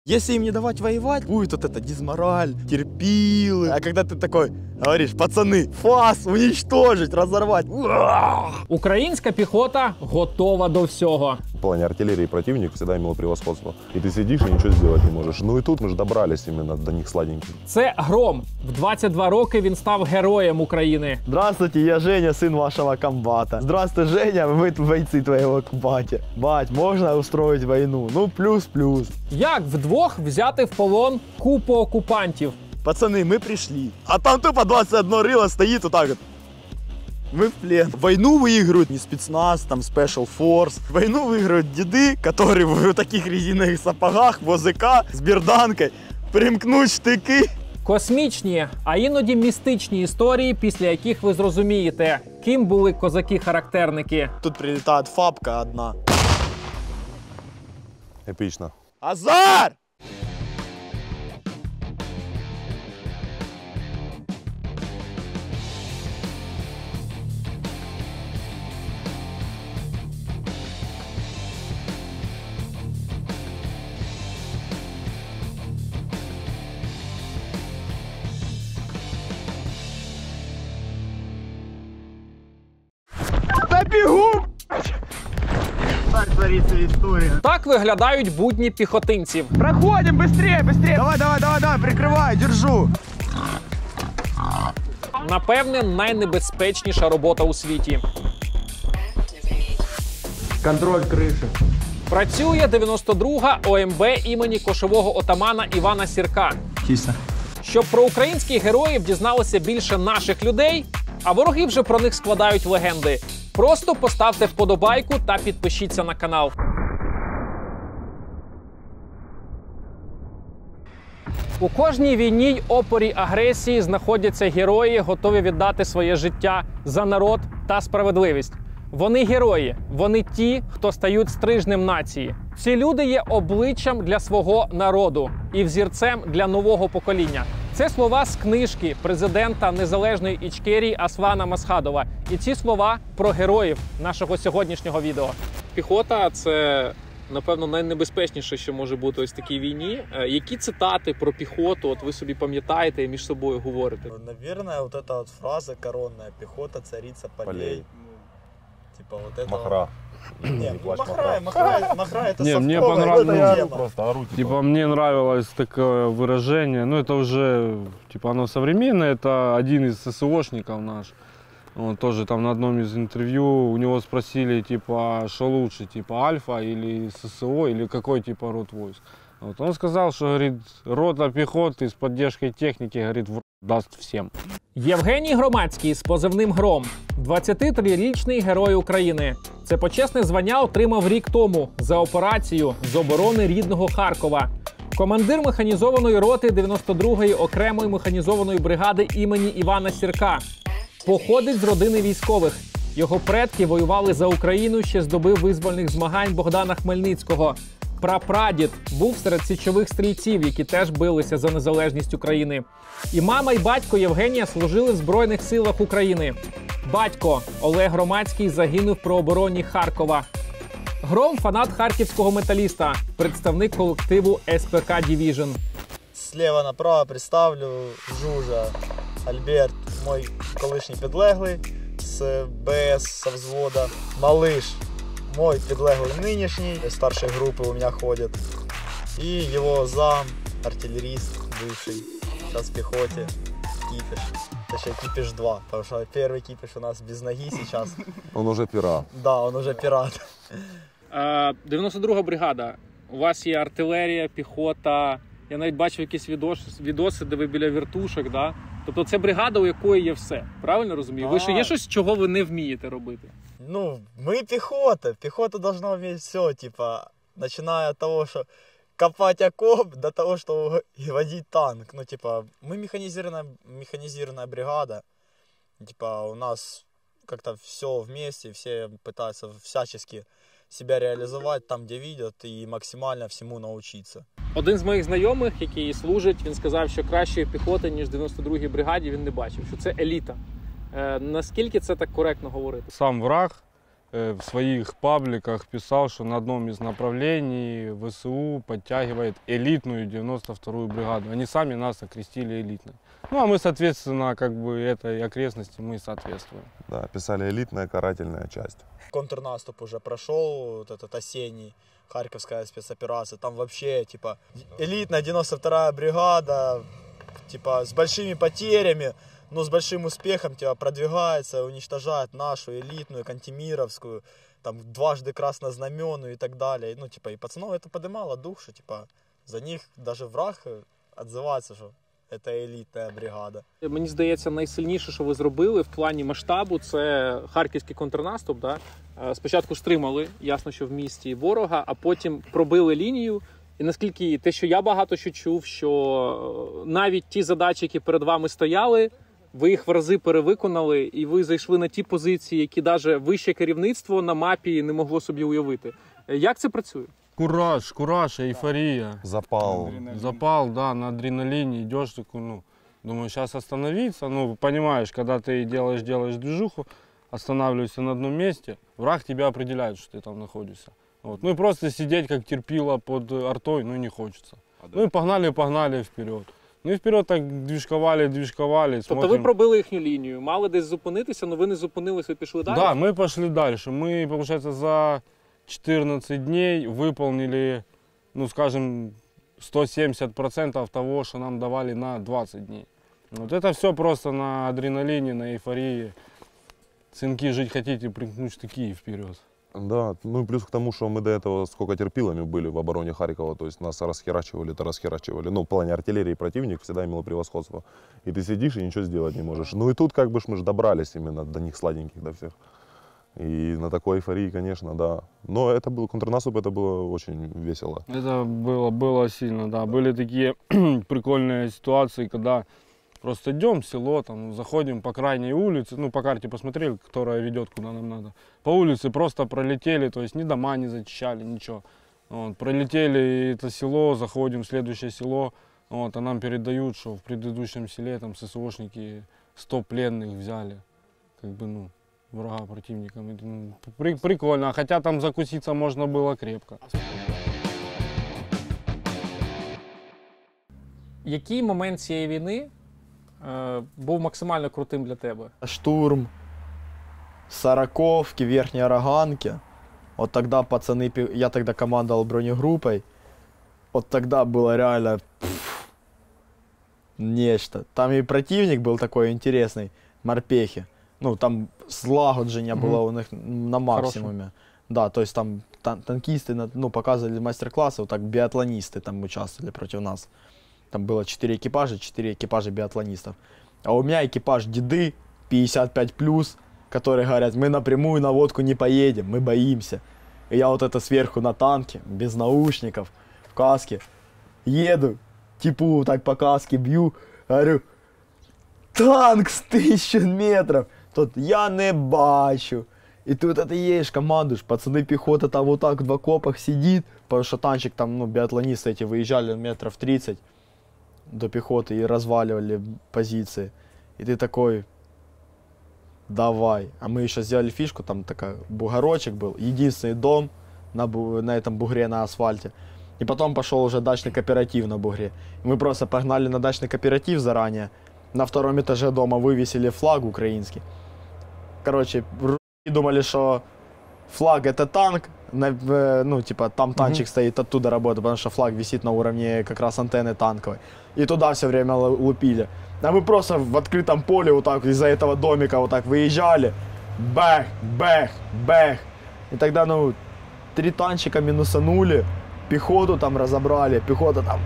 Если им не давать воевать, будет вот это дизмораль, терпилы. А когда ты такой говоришь, пацаны, фас уничтожить, разорвать. Українська піхота готова до всього. В плане артиллерии противник всегда имел превосходство. И ты сидишь и ничего сделать не можешь. Ну и тут мы же добрались именно до них сладеньких. Це Гром. В 22 роки він став героєм України. Здравствуйте, я Женя, сын вашего комбата. Здравствуй, Женя, мы бойцы твоего комбата. Бать, можно устроить войну? Ну, плюс-плюс. Як вдвох взяти в полон купу окупантів? Пацаны, мы пришли. А там тупо 21 рыло стоит вот так вот. Мы в плен. Войну выигрывают не спецназ, там спешл форс. Войну выигрывают деды, которые в таких резиновых сапогах, в ОЗК, с берданкой, примкнуть штыки. Космічні, а іноді містичні історії, після яких ви зрозумієте, ким були козаки-характерники. Тут прилетает фабка одна. Эпично. Азар! Да бегу! Так творится история. Так виглядають будні піхотинців. Проходим быстрее, быстрее! Давай, давай, давай, давай, прикрывай, держу! Напевне, найнебезпечніша робота у світі. Контроль крыши. Працює 92-га ОМБ імені кошового отамана Івана Сірка. Чисто. Щоб про українських героїв дізналося більше наших людей, а вороги вже про них складають легенди. Просто поставте вподобайку та підпишіться на канал. У кожній війні й опорі агресії знаходяться герої, готові віддати своє життя за народ та справедливість. Вони герої, вони ті, хто стають стрижнем нації. Ці люди є обличчям для свого народу і взірцем для нового покоління. Це слова з книжки президента Незалежної Ічкерії Аслана Масхадова. І ці слова про героїв нашого сьогоднішнього відео. Піхота – це, напевно, найнебезпечніше, що може бути ось в такій війні. Які цитати про піхоту от ви собі пам'ятаєте і між собою говорите? Наверное, вот эта вот фраза коронная: пехота, царица полей. Типа вот это. Махра. Не, плачь, махра это Не, мне совковая понравилось. тема. Просто ору, Типа мне нравилось такое выражение, ну это уже, типа оно современное, это один из ССОшников наш. Он тоже там на одном из интервью у него спросили, типа, что лучше, типа Альфа или ССО, или какой типа род войск. Вот он сказал, что, говорит, рота пехоты с поддержкой техники, говорит, даст всем. Євгеній Громадський з позивним «Гром» – 23-річний герой України. Це почесне звання отримав рік тому за операцію з оборони рідного Харкова. Командир механізованої роти 92-ї окремої механізованої бригади імені Івана Сірка. Походить з родини військових. Його предки воювали за Україну ще з доби визвольних змагань Богдана Хмельницького. Прапрадід був серед січових стрільців, які теж билися за незалежність України. І мама, і батько Євгенія служили в Збройних силах України. Батько Олег Громадський загинув при обороні Харкова. Гром – фанат харківського металіста, представник колективу СПК Дивіжн. Слева направо представлю Жужа Альберт, мой колишній підлеглий з БС, со взвода. Малыш, мой підлеглий нынешний, старшей группы у меня ходит. И его зам, артиллерист бывший, сейчас в пехоте, кипиш. Точнее, кипиш 2, потому что первый кипиш у нас без ноги сейчас. Он уже пират. Да, он уже пират. 92-га бригада. У вас є артилерія, піхота. Я навіть бачив якісь відоси, де ви біля вертушок, да? Тобто це бригада, у якої є все. Правильно розумію? Ви що, є щось, чого ви не вмієте робити? Ну, мы пехота. Пехота должна уметь все, типа, начиная от того, что копать окоп, до того, что водить танк. Ну, типа, мы механизированная бригада. Типа, у нас как-то все вместе, все пытаются всячески себя реализовать там, где видят, и максимально всему научиться. Один з моїх знайомих, який служить, він сказав, що кращої піхоти, ніж в 92-й бригаді, він не бачив, що це еліта. Наскільки це так коректно говорити? Сам враг в своих пабликах писал, что на одном из направлений ВСУ подтягивает элитную 92-ю бригаду. Они сами нас окрестили элитной. Ну а мы, соответственно, как бы этой окрестности мы соответствуем. Да, писали элитная карательная часть. Контрнаступ уже прошел, вот этот осенний, Харьковская спецоперация. Там вообще, типа, элитная 92-я бригада, типа, с большими потерями, но с большим успехом, типа, продвигается, уничтожает нашу элитную, Кантемировскую, там, дважды краснознаменную и так далее. Ну, типа, и пацанов это поднимало дух, что, типа, за них даже враг отзывается, що це елітна бригада. Мені здається, найсильніше, що ви зробили в плані масштабу, це харківський контрнаступ. Да? Спочатку стримали, ясно, що в місті ворога, а потім пробили лінію. І наскільки те, що я багато що чув, що навіть ті задачі, які перед вами стояли, ви їх в рази перевиконали, і ви зайшли на ті позиції, які навіть вище керівництво на мапі не могло собі уявити. Як це працює? Кураж, эйфория. Запал. Запал, да, на адреналине идешь, такой, ну, думаю, сейчас остановиться. Ну, понимаешь, когда ты делаешь движуху, останавливаешься на одном месте, враг тебя определяет, что ты там находишься. Вот. Ну и просто сидеть как терпило под артой, ну, не хочется. Ну и погнали вперед. Ну і вперед так движковали. Тобто ви пробили їхню лінію, мали десь зупинитися, але ви не зупинилися і пішли далі? Да, мы пошли дальше. Мы, получается, за 14 дней выполнили, ну, скажем, 170% того, что нам давали на 20 дней. Вот это все просто на адреналине, на эйфории. Сынки, жить хотите, примкнуть штыки и вперед. Да, ну и плюс к тому, что мы до этого сколько терпилами были в обороне Харькова, то есть нас расхерачивали. Ну, в плане артиллерии противник всегда имел превосходство. И ты сидишь и ничего сделать не можешь. Ну и тут как бы мы же добрались именно до них сладеньких, до всех. И на такой эйфории, конечно, да. Но это был контрнаступ, это было очень весело. Это было сильно, да. Были такие прикольные ситуации, когда просто идем в село, там, заходим по крайней улице, ну, по карте посмотрели, которая ведет куда нам надо. По улице просто пролетели, то есть ни дома не зачищали, ничего. Вот, пролетели это село, заходим в следующее село, вот, а нам передают, что в предыдущем селе там ССОшники 100 пленных взяли. Как бы, ну, врага противникам. Прикольно, хотя там закуситься можно было крепко. Який момент цієї війни був максимально крутим для тебе? Штурм Сороковки, Верхней Роганки. Вот тогда пацаны, я тогда командовал бронегруппой. Вот тогда было реально нечто. Там и противник был такой интересный, морпехи. Ну, там злагодження было у них на максимуме. Хороший. Да, то есть там танкисты, ну, показывали мастер-классы, вот так биатлонисты там участвовали против нас. Там было 4 экипажа биатлонистов. А у меня экипаж деды, 55+, которые говорят, мы напрямую на водку не поедем, мы боимся. И я вот это сверху на танке, без наушников, в каске, еду, типу так по каске бью, говорю, танк с 1000 метров. Тут я не бачу. И тут это едешь, командуешь, пацаны, пехота там вот так в окопах сидит, потому что танчик там, ну, биатлонисты эти выезжали метров 30 до пехоты и разваливали позиции. И ты такой, давай. А мы еще сделали фишку, там такой бугорочек был, единственный дом на этом бугре на асфальте. И потом пошел уже дачный кооператив на бугре. И мы просто погнали на дачный кооператив заранее. На втором этаже дома вывесили флаг украинский. Короче, думали, что флаг это танк, ну, типа, там танчик стоит, оттуда работает, потому что флаг висит на уровне как раз антенны танковой. И туда все время лупили. А мы просто в открытом поле вот так из-за этого домика вот так выезжали. Бэх, бэх, бэх. И тогда, ну, 3 танчика минусанули, пехоту там разобрали, пехота там...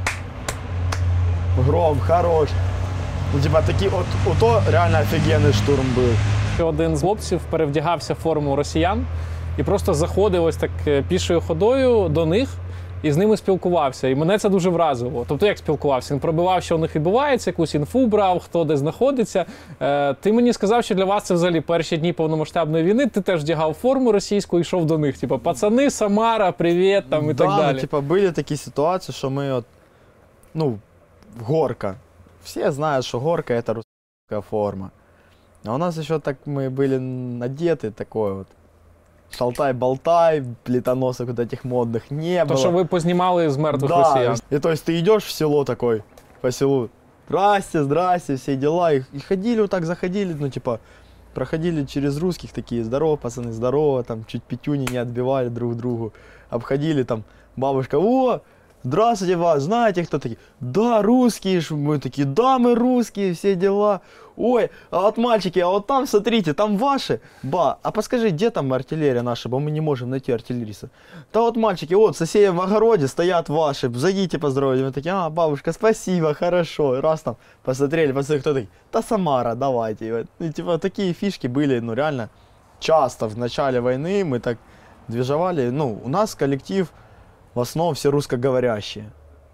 Гром, хорош. Ну, типа, такий, ото реально офігенний штурм був. Один з хлопців перевдягався в форму росіян і просто заходив ось так пішою ходою до них і з ними спілкувався. І мене це дуже вразило. Тобто як спілкувався? Він пробивав, що у них відбувається, якусь інфу брав, хто де знаходиться. Ти мені сказав, що для вас це взагалі перші дні повномасштабної війни, ти теж вдягав форму російську і йшов до них. Типа, пацани, Самара, привіт, там і так далі. Ну, типа, були такі ситуації, що ми от, ну, горка. Все знают, что горка это русская форма. А у нас еще так мы были одеты такой вот шалтай-болтай, плитоносок вот этих модных не было. То, що ви познімали з мертвих Да, росіян. и то есть ты идешь в село такой, по селу, здрасте, здрасте, все дела, и ходили вот так, заходили, ну типа, проходили через русских такие, здорово, пацаны, здорово, там чуть пятюни не отбивали друг другу, обходили там, бабушка, о, здравствуйте, вас, знаете, кто такие? Да, русские, мы такие, да, мы русские, все дела. Ой, а вот мальчики, а вот там, смотрите, там ваши. Ба, а подскажи, где там артиллерия наша, бо мы не можем найти артиллериста. Да вот мальчики, вот, соседи в огороде стоят ваши, зайдите поздоровать. Мы такие, а, бабушка, спасибо, хорошо. И раз там посмотрели, посмотрели, кто такой, да Самара, давайте. И, типа, такие фишки были, ну, реально, часто в начале войны мы так движевали. Ну, у нас коллектив в основном все русскоговорящие.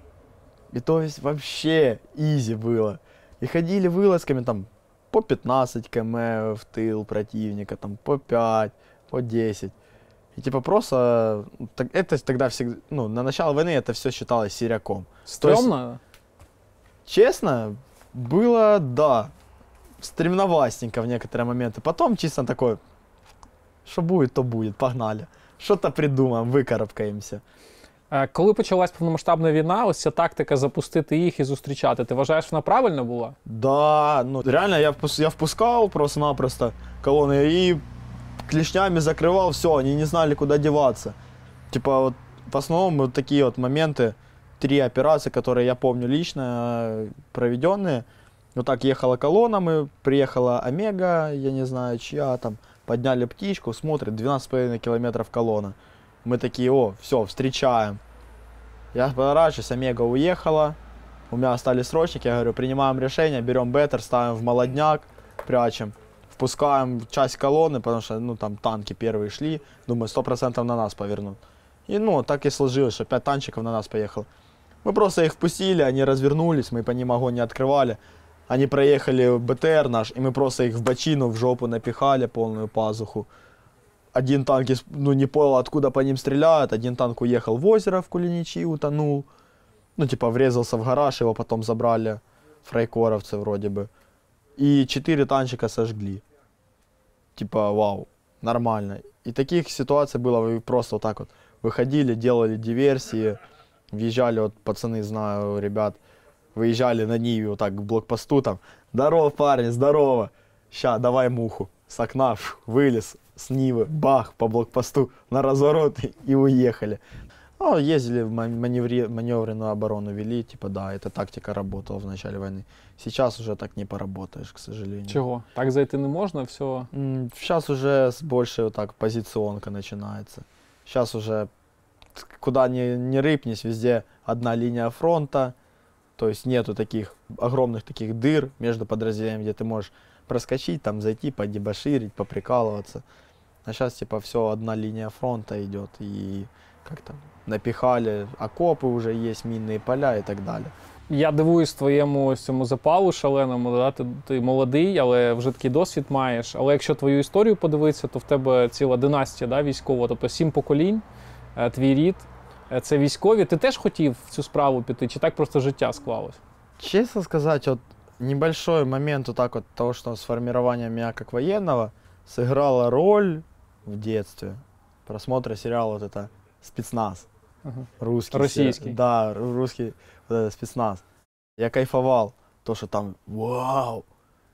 И то есть вообще изи было. И ходили вылазками там по 15 км в тыл противника, там по 5, по 10. И типа просто, это тогда всегда, ну, на начало войны это все считалось сиряком. Стрьомно? Честно, было, да, стремновастенько в некоторые моменты. Потом чисто такое, что будет, то будет, погнали. Что-то придумаем, выкарабкаемся. Коли почалась повномасштабна війна, ось ця тактика запустити їх і зустрічати, ти вважаєш, вона правильна була? Да, ну реально я впускал просто-напросто колонны и клешнями закрывал, все, они не знали, куда деваться. Типа вот в основном вот такие вот моменты, 3 операции, которые я помню лично проведенные. Вот так ехала колонна, мы приехала Омега, я не знаю чья там, подняли птичку, смотрит 12,5 километров колонна. Мы такие, о, все, встречаем. Я поворачиваюсь, Омега уехала, у меня остались срочники, я говорю, принимаем решение, берем беттер, ставим в молодняк, прячем, впускаем часть колонны, потому что, ну, там танки первые шли, думаю, 100% на нас повернут. И, ну, так и сложилось, что 5 танчиков на нас поехало. Мы просто их впустили, они развернулись, мы по ним огонь не открывали. Они проехали БТР наш, и мы просто их в бочину, в жопу напихали, полную пазуху. Один танк, ну, не понял, откуда по ним стреляют. Один танк уехал в озеро в Кулиничи, утонул. Ну, типа, врезался в гараж, его потом забрали фрайкоровцы вроде бы. И 4 танчика сожгли. Типа, вау, нормально. И таких ситуаций было, вы просто вот так вот выходили, делали диверсии, въезжали, вот пацаны, знаю, ребят, выезжали на Ниве вот так к блокпосту, там, здорово, парни, здорово, ща, давай муху. С окна вылез, с Нивы, бах, по блокпосту, на разворот и уехали. Ну, ездили в маневренную оборону вели, типа, да, эта тактика работала в начале войны. Сейчас уже так не поработаешь, к сожалению. Чого? Так зайти не можна, все. Сейчас уже больше вот так позиционка начинается. Сейчас уже куда ни рыпнись, везде одна линия фронта. То есть нету таких огромных таких дыр между подразделениями, где ты можешь проскочить, там зайти, подебоширить, поприкалываться. А сейчас типа все, одна линия фронта идет, и как-то напихали, окопы уже есть, минные поля и так далее. Я дивуюсь твоєму цьому запалу шаленому, да? Ти молодий, але вже такий досвід маєш. Але якщо твою історію подивитися, то в тебе ціла династія, да, військова, тобто 7 поколінь, твій рід. Це військові. Ти теж хотів в цю справу піти, чи так просто життя склалось? Честно сказать, вот небольшой момент вот так вот того, что с формированием меня как военного сыграла роль в детстве просмотра сериала вот это «Спецназ». Ага. Русский. Российский. Да, русский вот это «Спецназ». Я кайфовал, то, что там, вау,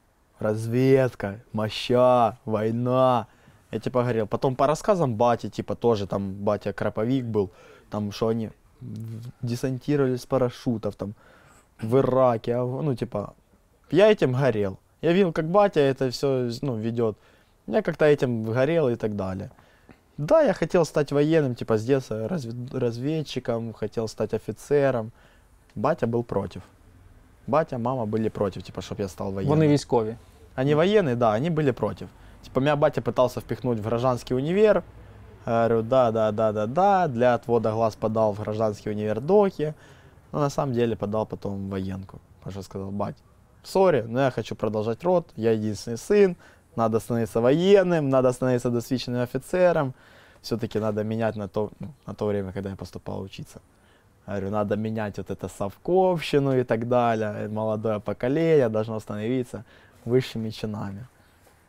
разведка, моща, война. Я типа говорил. Потом по рассказам бати, типа тоже там батя Краповик был, там что они десантировались с парашютов там в Ираке, ну типа, я этим горел. Я видел, как батя это все, ну, ведет. Я как-то этим горел и так далее. Да, я хотел стать военным, типа с детства разведчиком, хотел стать офицером. Батя был против. Батя, мама были против, типа, чтобы я стал военным. Вони військові. Они военные, да, они были против. Типа, меня батя пытался впихнуть в гражданский универ. Говорю, да, для отвода глаз подал в гражданский универ Доки. Но на самом деле подал потом в военку. Потому что сказал, бать, сори, но я хочу продолжать род, я единственный сын, надо становиться военным, надо становиться досвидченным офицером. Все-таки надо менять на то время, когда я поступал учиться. Говорю, надо менять вот это совковщину и так далее. Молодое поколение должно становиться высшими чинами.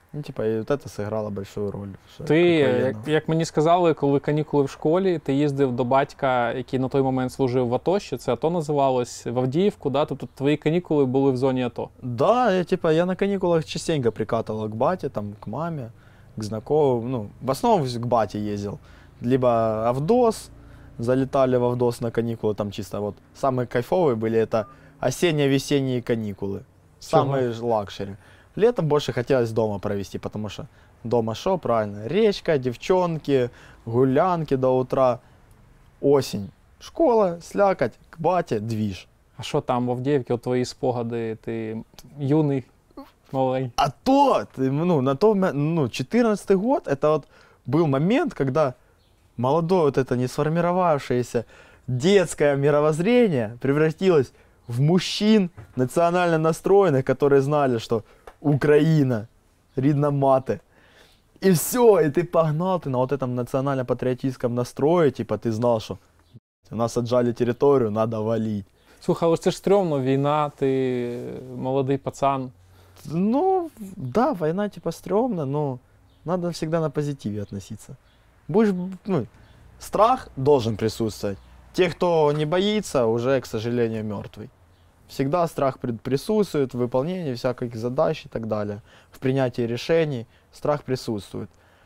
Ну, типа, и вот это сыграло большую роль. Ти, як мені сказали, коли канікули в школі, ти їздив до батька, який на той момент служив в АТО, ще це АТО називалось, в Авдіївку, да? Тобто твої канікули були в зоні АТО? Да, я на каникулах частенько прикатывал к бате, там, к маме, к знакомым. Ну, в основном к бате ездил. Либо Авдос, залетали в Авдос на каникулы, там чисто вот. Самые кайфовые были это осенне-весенние каникулы. Самые лакшери. Летом больше хотелось дома провести, потому что дома шо, правильно, речка, девчонки, гулянки до утра. Осень, школа, слякоть, к бате, движ. А що там в Авдіївці, от твої спогади, ти юний, маленький? А то, на то, 14-й год, это вот был момент, когда молодое вот это не сформировавшееся детское мировоззрение превратилось в мужчин национально настроенных, которые знали, что Украина, рідна мати. И все, и ты погнал, ты на вот этом национально-патриотическом настрое, типа ты знал, что у нас отжали территорию, надо валить. Слухай, але це ж стрьомно, війна, ти молодий пацан. Ну, да, война типа стрёмно, но надо всегда на позитиве относиться. Будешь, страх должен присутствовать. Те, кто не боится, уже, к сожалению, мертвый. Всегда страх присутствует в выполнении всяких задач и так далее. В принятии решений страх присутствует.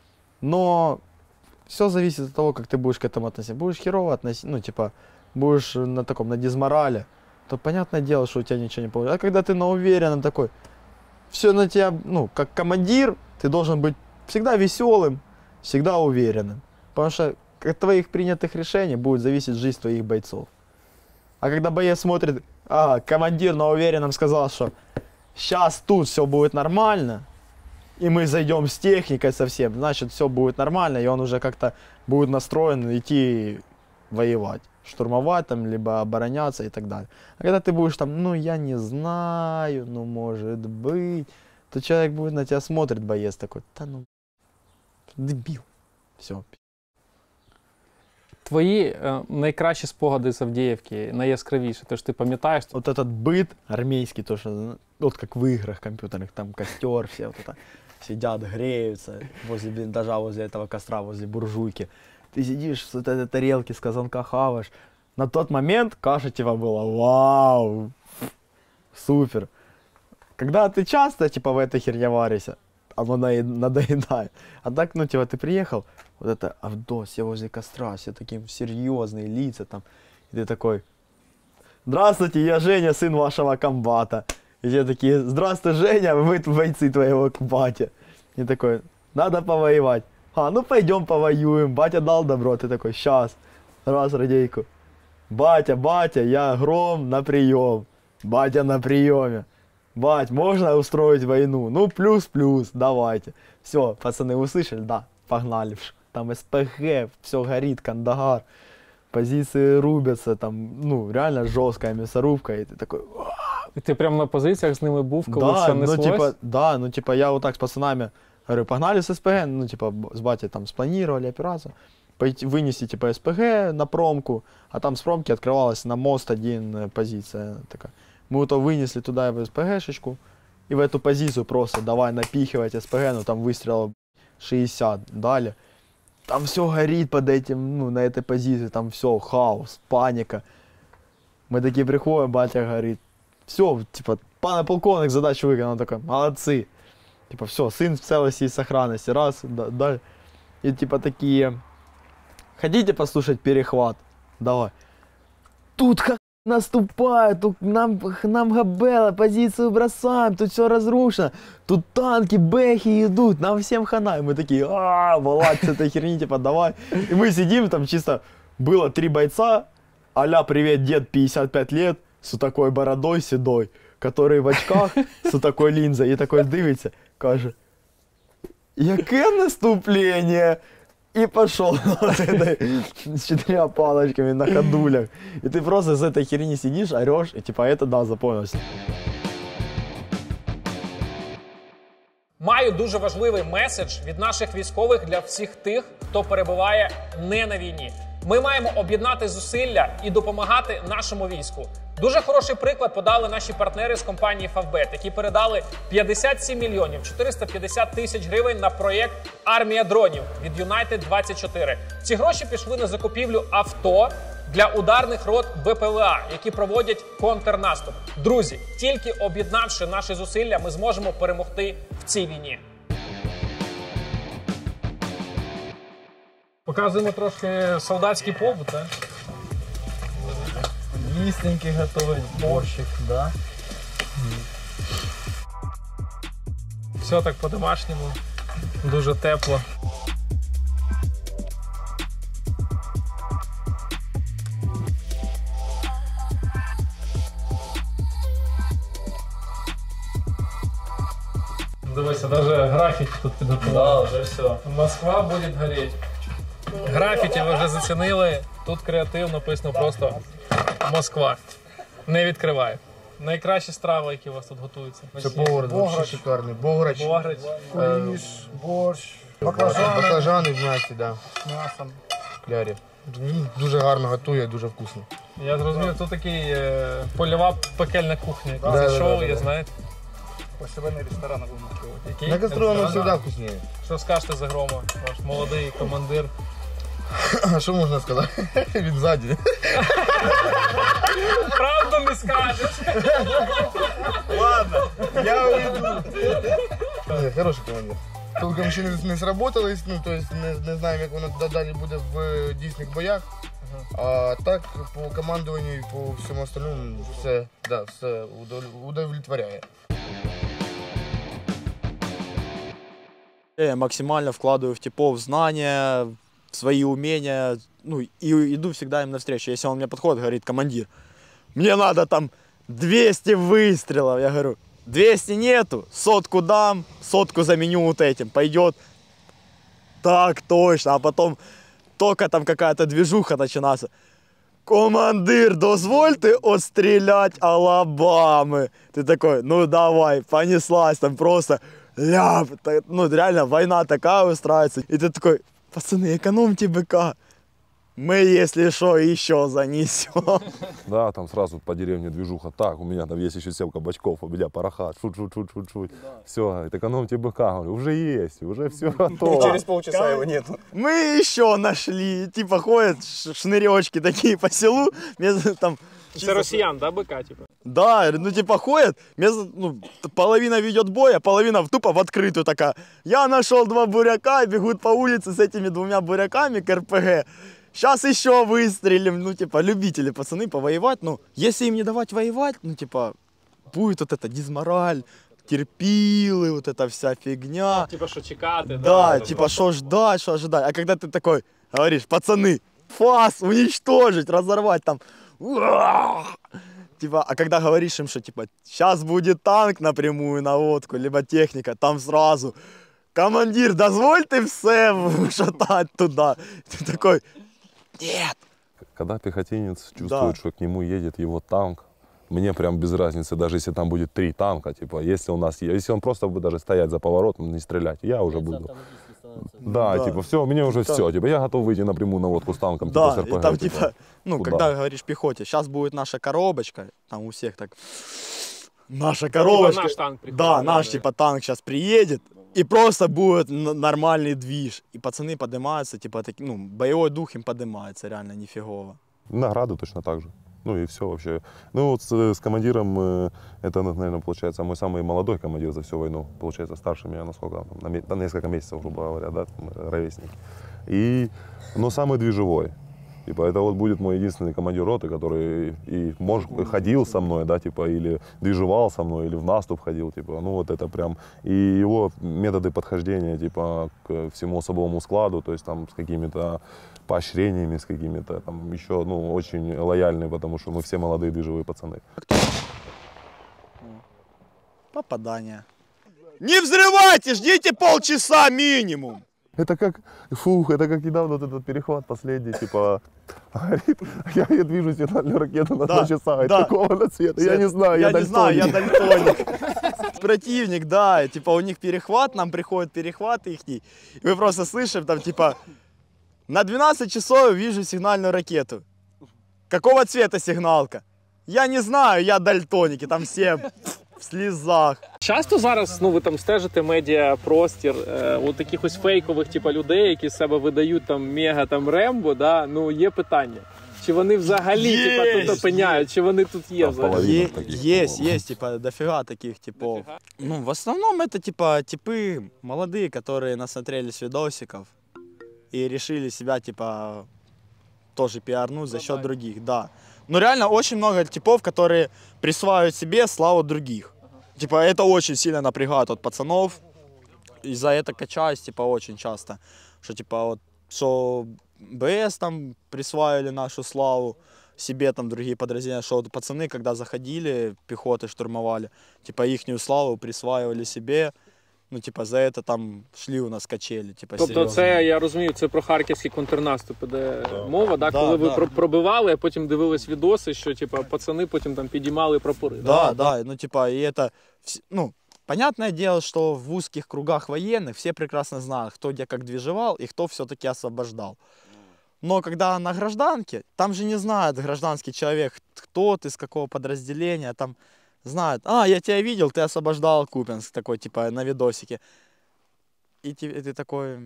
Но все зависит от того, как ты будешь к этому относиться. Будешь херово относиться, будешь на дизморале, то понятное дело, что у тебя ничего не получится. А когда ты на уверенном такой, все на тебя, как командир, ты должен быть всегда веселым, всегда уверенным. Потому что от твоих принятых решений будет зависеть жизнь твоих бойцов. А когда боец смотрит, командир на уверенном сказал, что сейчас тут все будет нормально, и мы зайдем с техникой совсем, значит все будет нормально, и он уже как-то будет настроен идти воевать, штурмовать там, либо обороняться и так далее. А когда ты будешь там, я не знаю, может быть, то человек будет на тебя смотрит, боец такой, дебил, все. Твої найкращі спогади з Авдіївки, найяскравіші, то ж ти пам'ятаєш? Вот этот быт армейский, то, что, вот как в играх компьютерных, там костер, все вот это, сидят, греются возле блиндажа, возле этого костра, возле буржуйки. Ты сидишь с вот этой тарелки с казанка хаваешь. На тот момент каша типа была вау, супер. Когда ты часто в этой херне варишься, оно надоедает. А так, ты приехал, вот это Авдос, все возле костра, все такие серьезные лица там. И ты такой, здравствуйте, я Женя, сын вашего комбата. И все такие, здравствуй, Женя, мы бойцы твоего комбата. И такой, надо повоевать. Пойдем повоюем. Батя дал добро, ты такой, сейчас. Раз, радейку. Батя, я Гром на прием. Батя на приеме. Бать, можно устроить войну? Плюс, давайте. Все, пацаны, услышали? Да, погнали. Там СПГ, все горит, Кандагар. Позиции рубятся, там, реально жесткая мясорубка. И ты такой... И ты прям на позициях с ними був, коли все неслось? Я вот так с пацанами говорю, погнали с СПГ, с батей там спланировали операцию. Вынести, СПГ на промку, а там с промки открывалась на мост один позиция такая. Мы то вынесли туда СПГшечку, и в эту позицию просто давай напихивать СПГ, там выстрелов 60 дали. Там все горит под этим, на этой позиции, там все, хаос, паника. Мы такие приходим, батя говорит, все, пане полковник задачу выполнил, он такой, молодцы. Все, сын в целости и сохранности, раз, да. И такие, хотите послушать перехват? Давай. Тут наступают, тут нам габела, позицию бросаем, тут все разрушено, тут танки, бэхи идут, нам всем хана. И мы такие, вылазь с этой херни, давай. И мы сидим, там чисто было 3 бойца, а-ля привет, дед, 55 лет, с такой бородой седой, который в очках, с такой линзой, и такой дивится, каже, яке наступление? И пошел с 4 палочками на ходулях. И ты просто с этой херни сидишь, орешь, и это да, запомнился. Маю дуже важливий меседж від наших військових для всіх тих, хто перебуває не на війні. Ми маємо об'єднати зусилля і допомагати нашому війську. Дуже хороший приклад подали наші партнери з компанії Favbet, які передали 57 мільйонів 450 тисяч гривень на проєкт «Армія дронів» від United-24. Ці гроші пішли на закупівлю авто для ударних рот БПЛА, які проводять контрнаступ. Друзі, тільки об'єднавши наші зусилля, ми зможемо перемогти в цій війні. Показуємо трошки солдатський побут, так? Їстеньки готовить, борщик, да. Все так по-домашньому, дуже тепло. Дивися, навіть графіті тут підготували. Да, вже все. Москва буде горіти. Графіті ви вже зацінили. Тут креатив написано просто Москва. Не відкривай. Найкращі страви, які у вас тут готуються. Це повар, вообще шикарний. Бограч, Бограч. куліш, борщ, баклажани в м'ясі, да. З м'ясом. Клярі. Він дуже гарно готує, дуже вкусно. Я зрозумів, тут такий польова пекельна кухня. Да, Це шоу, да. я знаю. Посередний ресторан на Гумакові. Який? На гастроном завжди вкусніше. Що скажете за Грома, ваш молодий командир? А що можна сказати? Він ззаді. Правду не скажеш. Ладно, я уйду. Хороший командир. Толком ще не сработались, ну, то есть не знаємо, як воно далі буде в дійсних боях. А так, по командуванню і по всьому остальному все, да, все удовлетворяє. Я максимально вкладываю в типов знания, свои умения, ну и иду всегда им навстречу. Если он мне подходит, говорит: командир, мне надо там 200 выстрелов. Я говорю: 200 нету, 100 дам, 100 заменю вот этим, пойдет. Так точно, а потом только там какая-то движуха начинается. Командир, дозвольте отстрелять Алабамы. Ты такой: ну давай, понеслась, там просто ляп. Ну реально война такая устраивается. И ты такой: пацаны, экономьте быка. Мы, если что, еще занесем. Да, там сразу по деревне движуха. Так, у меня там есть еще 7 кабачков, у меня парахат. Шут. Все, экономьте быка. Говорю, уже есть, уже все готово. Через полчаса его нету. Мы еще нашли. Типа ходят шныречки такие по селу. Там Це росіян, да, бика, типу? Да, ну типа ходят, ну, половина ведет бой, а половина тупо в открытую такая. Я нашел 2 буряка, бегут по улице с этими 2 буряками к РПГ. Сейчас еще выстрелим, ну типа любители пацаны повоевать, ну если им не давать воевать, ну типа будет вот это дизмораль, терпилы, вот эта вся фигня. Типа, що чекати, Да, типа что ждать, что ожидать. А когда ты такой говоришь: пацаны, фас, уничтожить, разорвать там. Типа, а когда говоришь им, что типа сейчас будет танк напрямую наводку, либо техника, там сразу: командир, дозвольте все шатать туда. Ты такой: нет. Когда пехотинец чувствует, Да. что к нему едет его танк, мне прям без разницы, даже если там будет 3 танка, типа, если он просто будет даже стоять за поворотом, не стрелять, я уже буду. Да, Да. типа, все, мне уже Там- все, типа, я готов выйти напрямую на водку с танком, Да, типа, с РПГ, и там типа, ну, куда? когда говоришь пехоте: сейчас будет наша коробочка, там у всех так, наша Типа коробочка. наш танк приходить. Да, наш типа танк сейчас приедет, и просто будет нормальный движ. И пацаны поднимаются, типа, ну, боевой дух им поднимается, реально нифигово. Награды точно так же. Ну и все вообще. Ну вот с командиром, это, наверное, получается мой самый молодой командир за всю войну. Получается, старше меня, насколько, на несколько месяцев, грубо говоря, да, ровесник. Но самый движевой. Типа, это вот будет мой единственный командир роты, который ходил со мной, да, типа, или движевал со мной, или в наступ ходил, типа, ну вот это прям. И его методы подхождения, типа, к всему особовому складу, то есть там с какими-то поощрениями, с какими-то там еще, ну, очень лояльные, потому что мы все молодые движевые пацаны. Попадание. Не взрывайте, ждите полчаса минимум. Это как недавно вот этот перехват последний, типа, говорит, я вижу сигнальную ракету на 2 часа, и да. такого цвета, я не знаю, я не знаю, я дальтоник. дальтоник. Противник, да, и, типа у них перехват, нам приходит перехват их, и мы просто слышим там типа: на 12 часов вижу сигнальную ракету. Какого цвета сигналка? Я не знаю, я дальтоник, и там все в слезах. Часто зараз, ну ви там стежите медіапростір, от якихось фейкових типу, людей, які з себе видають там мега там Рембо, да? Ну є питання. Чи вони взагалі типа, тут опиняють, чи вони тут є взагалі? Есть, типа, дофига таких типов. Ну, в основном это, типа, типы молодые, которые насмотрелись видосиков и решили себя, типа, тоже пиарнуть за счет других, да. Но реально очень много типов, которые присваивают себе славу других. Типа, это очень сильно напрягает от пацанов. И за это качаюсь, типа, очень часто. Что, типа, вот, что БС там присваивали нашу славу, себе там другие подразделения, что вот пацаны, когда заходили, пехоты штурмовали, типа, ихнюю славу присваивали себе. Ну, типа, за це там шли у нас качелі, типа, тобто серйозно. це, я розумію, це про харківський контрнаступ іде мова, да? Коли ви пробивали, а потім дивились відоси, що, типа, пацани потім там підіймали прапори. Да, ну, типа, и это, ну, понятное дело, что в узких кругах военных все прекрасно знают, кто где как движевал и кто все-таки освобождал. Но когда на гражданке, там же не знает гражданский человек, кто ты, с какого подразделения, там знают, я тебя видел, ты освобождал Купянск, такой, типа, на видосике. И ты такой,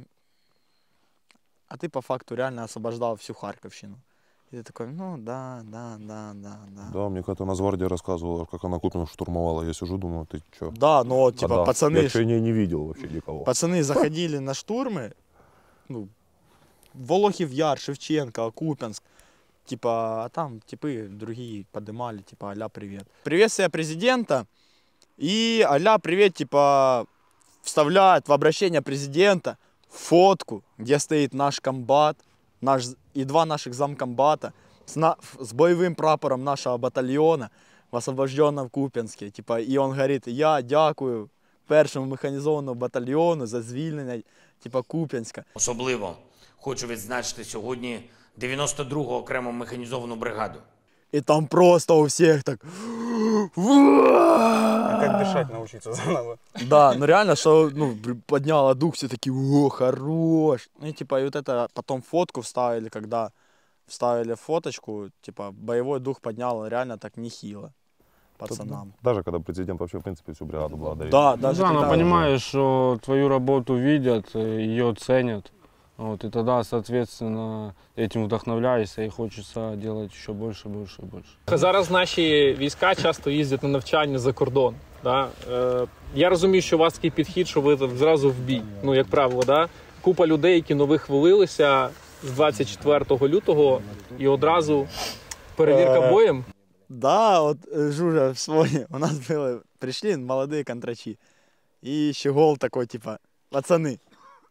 а ты по факту реально освобождал всю Харьковщину. И ты такой, ну да. Да, мне как-то Нацгвардия рассказывала, как она Купинск штурмовала. Я сижу, думаю, ты чё? Да, но, типа, Когда? пацаны... Я ещё не видел вообще никого. Пацаны заходили на штурмы, ну, Волохів Яр, Шевченко, Купянск, типа, а там типы другие поднимали, типа, а-ля привет. Приветствие президента и а-ля привет, типа, вставляют в обращение президента фотку, где стоит наш комбат, и два наших замкомбата с боевым прапором нашего батальона в освобожденном Куп'янське. Типа, и он говорит, я дякую першому механізованому батальйону за звільнення, типа, Куп'янська. Особливо хочу відзначити сьогодні 92-го окрему механізовану бригаду. И там просто у всех так... Как дышать научиться заново. Да, ну реально, что ну, подняло дух, все такие, о, хорош. Ну и типа, и вот это потом фотку вставили, когда вставили фоточку, типа, боевой дух подняло реально так нехило пацанам. Даже когда президент вообще, в принципе, всю бригаду благодарит. Да, даже Да, но когда... понимаешь, что твою работу видят, ее ценят. Вот, и тогда, соответственно, этим вдохновляешься и хочется делать еще больше. Зараз наші війська часто їздять на навчання за кордон. Да? Я розумію, що у вас такий підхід, що ви зразу в бій. Ну, як правило, да? Купа людей, які нових хвилилися з 24 лютого і одразу перевірка боєм. Да, вот Жужа вспомни, у нас было, пришли молодые контрачи, и щегол такой, типа, пацаны,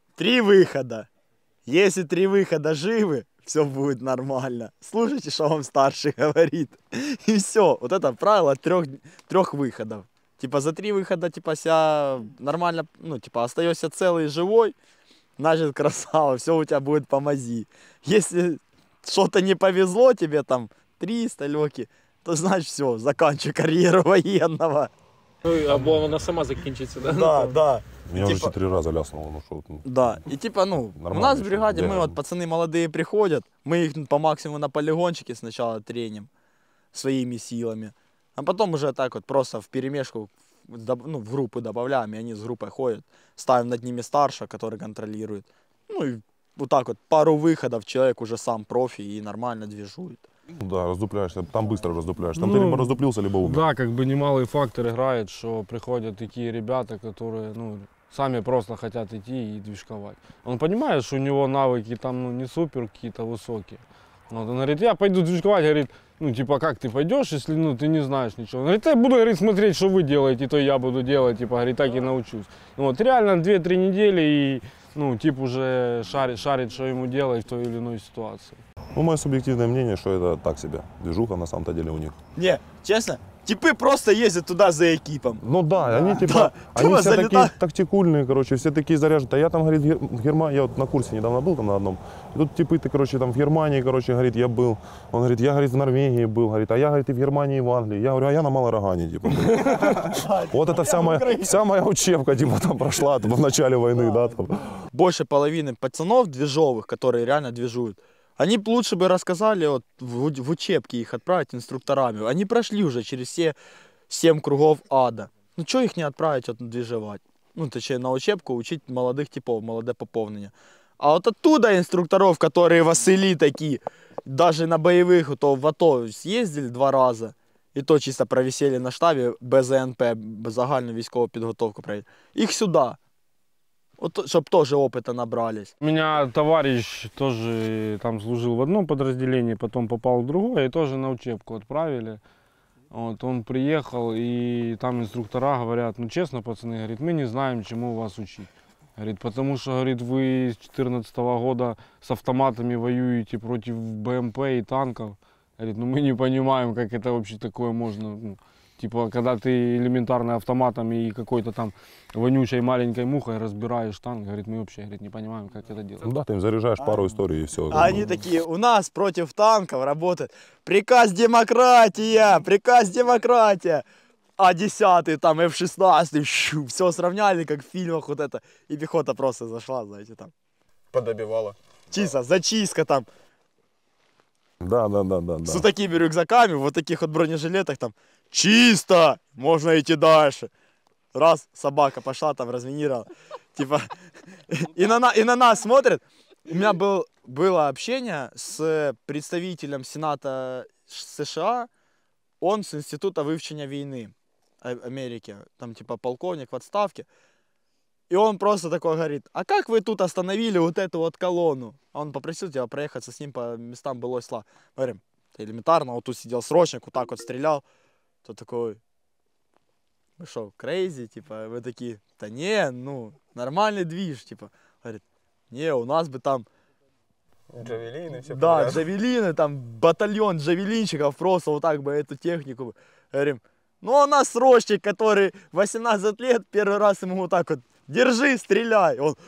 3 выхода. Если 3 выхода живы, все будет нормально. Слушайте, что вам старший говорит. И все. Вот это правило 3 выходов. Типа за 3 выхода, типа, себя нормально, ну, типа, остаешься целый и живой, значит, красава, все у тебя будет по мази. Если что-то не повезло тебе, там, 300 легких, то значит все, заканчивай карьеру военного. Або вона сама закінчиться, да? Да. Меня типа... уже 4 раза ляснуло. Ну, что, ну. Да, и типа, ну, у нас в бригаде, мы вот, пацаны молодые приходят, мы их по максимуму на полигончике сначала треним своими силами, а потом уже так вот просто вперемешку, ну, в группы добавляем, и они с группой ходят, ставим над ними старшего, который контролирует, ну, и вот так вот пару выходов человек уже сам профи и нормально движует. Да, раздупляешься, там быстро раздупляешься. Там ты либо раздуплился, либо умер. Да, как бы немалый фактор играет, что приходят такие ребята, которые, ну, сами просто хотят идти и движковать. Он понимает, что у него навыки там, ну, не супер какие-то высокие. Вот, он говорит, я пойду движковать, говорит, ну, типа, как ты пойдешь, если, ну, ты не знаешь ничего. Он говорит, я буду, говорит, смотреть, что вы делаете, то я буду делать, типа, говорит, так и научусь. Вот, реально 2-3 недели и, ну, тип уже шарит, что ему делать в той или иной ситуации. Ну, мое субъективное мнение, что это так себе. Движуха на самом-то деле у них. Не, честно, типы просто ездят туда за экипом. Ну да, они типа, да. они все залета... такие тактикульные, короче, все такие заряженные. А я там, говорит, я вот на курсе недавно был там на одном. И тут типы, ты, короче, там в Германии, короче, говорит, я был. Он говорит, я, говорит, в Норвегии был, говорит, а я, говорит, и в Германии, и в Англии. Я говорю, а я на Малорогане, типа. Вот это вся моя учебка, типа, там прошла в начале войны, да, там. Больше половины пацанов движовых, которые реально движуют, Они б лучше бы рассказали, вот, в учебке их отправить инструкторами. Они прошли уже через все 7 кругов ада. Ну, что их не отправить вот, движевать? Ну, точнее, на учебку учить молодых типов, молодое пополнение. А вот оттуда инструкторов, которые Васили такие, даже на боевых, то в АТО съездили 2 раза, і то чисто провисели на штабі, без НП, без загальну військову підготовку провели. Їх сюди. Вот, чтобы тоже опыта набрались. У меня товарищ тоже там служил в одном подразделении, потом попал в другое, и тоже на учебку отправили. Вот, он приехал, и там инструктора говорят, ну честно, пацаны, говорит, мы не знаем, чему вас учить. Говорит, потому что, говорит, вы с 2014 года с автоматами воюете против БМП и танков. Говорит, ну мы не понимаем, как это вообще такое можно. Ну, типа, когда ты элементарно автоматом и какой-то там вонючей маленькой мухой разбираешь танк, говорит, мы вообще, говорит, не понимаем, как это делать. Ну да, ты им заряжаешь пару историй и все. А они такие, у нас против танков работает приказ демократия, а 10-й, там, F-16, все сравняли, как в фильмах вот это, и пехота просто зашла, знаете, там. Подобивала. Чисто, зачистка там, Да. с вот такими рюкзаками, вот таких вот бронежилетах, там, чисто, можно идти дальше. Раз, собака пошла, там, разминировала, типа, и на нас смотрят. У меня было общение с представителем Сената США, он с Института вивчення войны Америки, там типа полковник в отставке. И он просто такой говорит, а как вы тут остановили вот эту вот колонну? А он попросил тебя проехаться с ним по местам былой славы. Говорим, это элементарно, вот тут сидел срочник, вот так вот стрелял. Тот такой, вы что, крейзи? Типа, вы такие, да не, ну, нормальный движ, типа. Говорит, не, у нас бы там... Джавелины, все. Да, джавелины, там батальон джавелинщиков, просто вот так бы эту технику. Говорим, ну у нас срочник, который 18 лет, первый раз ему вот так вот, держи, стреляй. Он,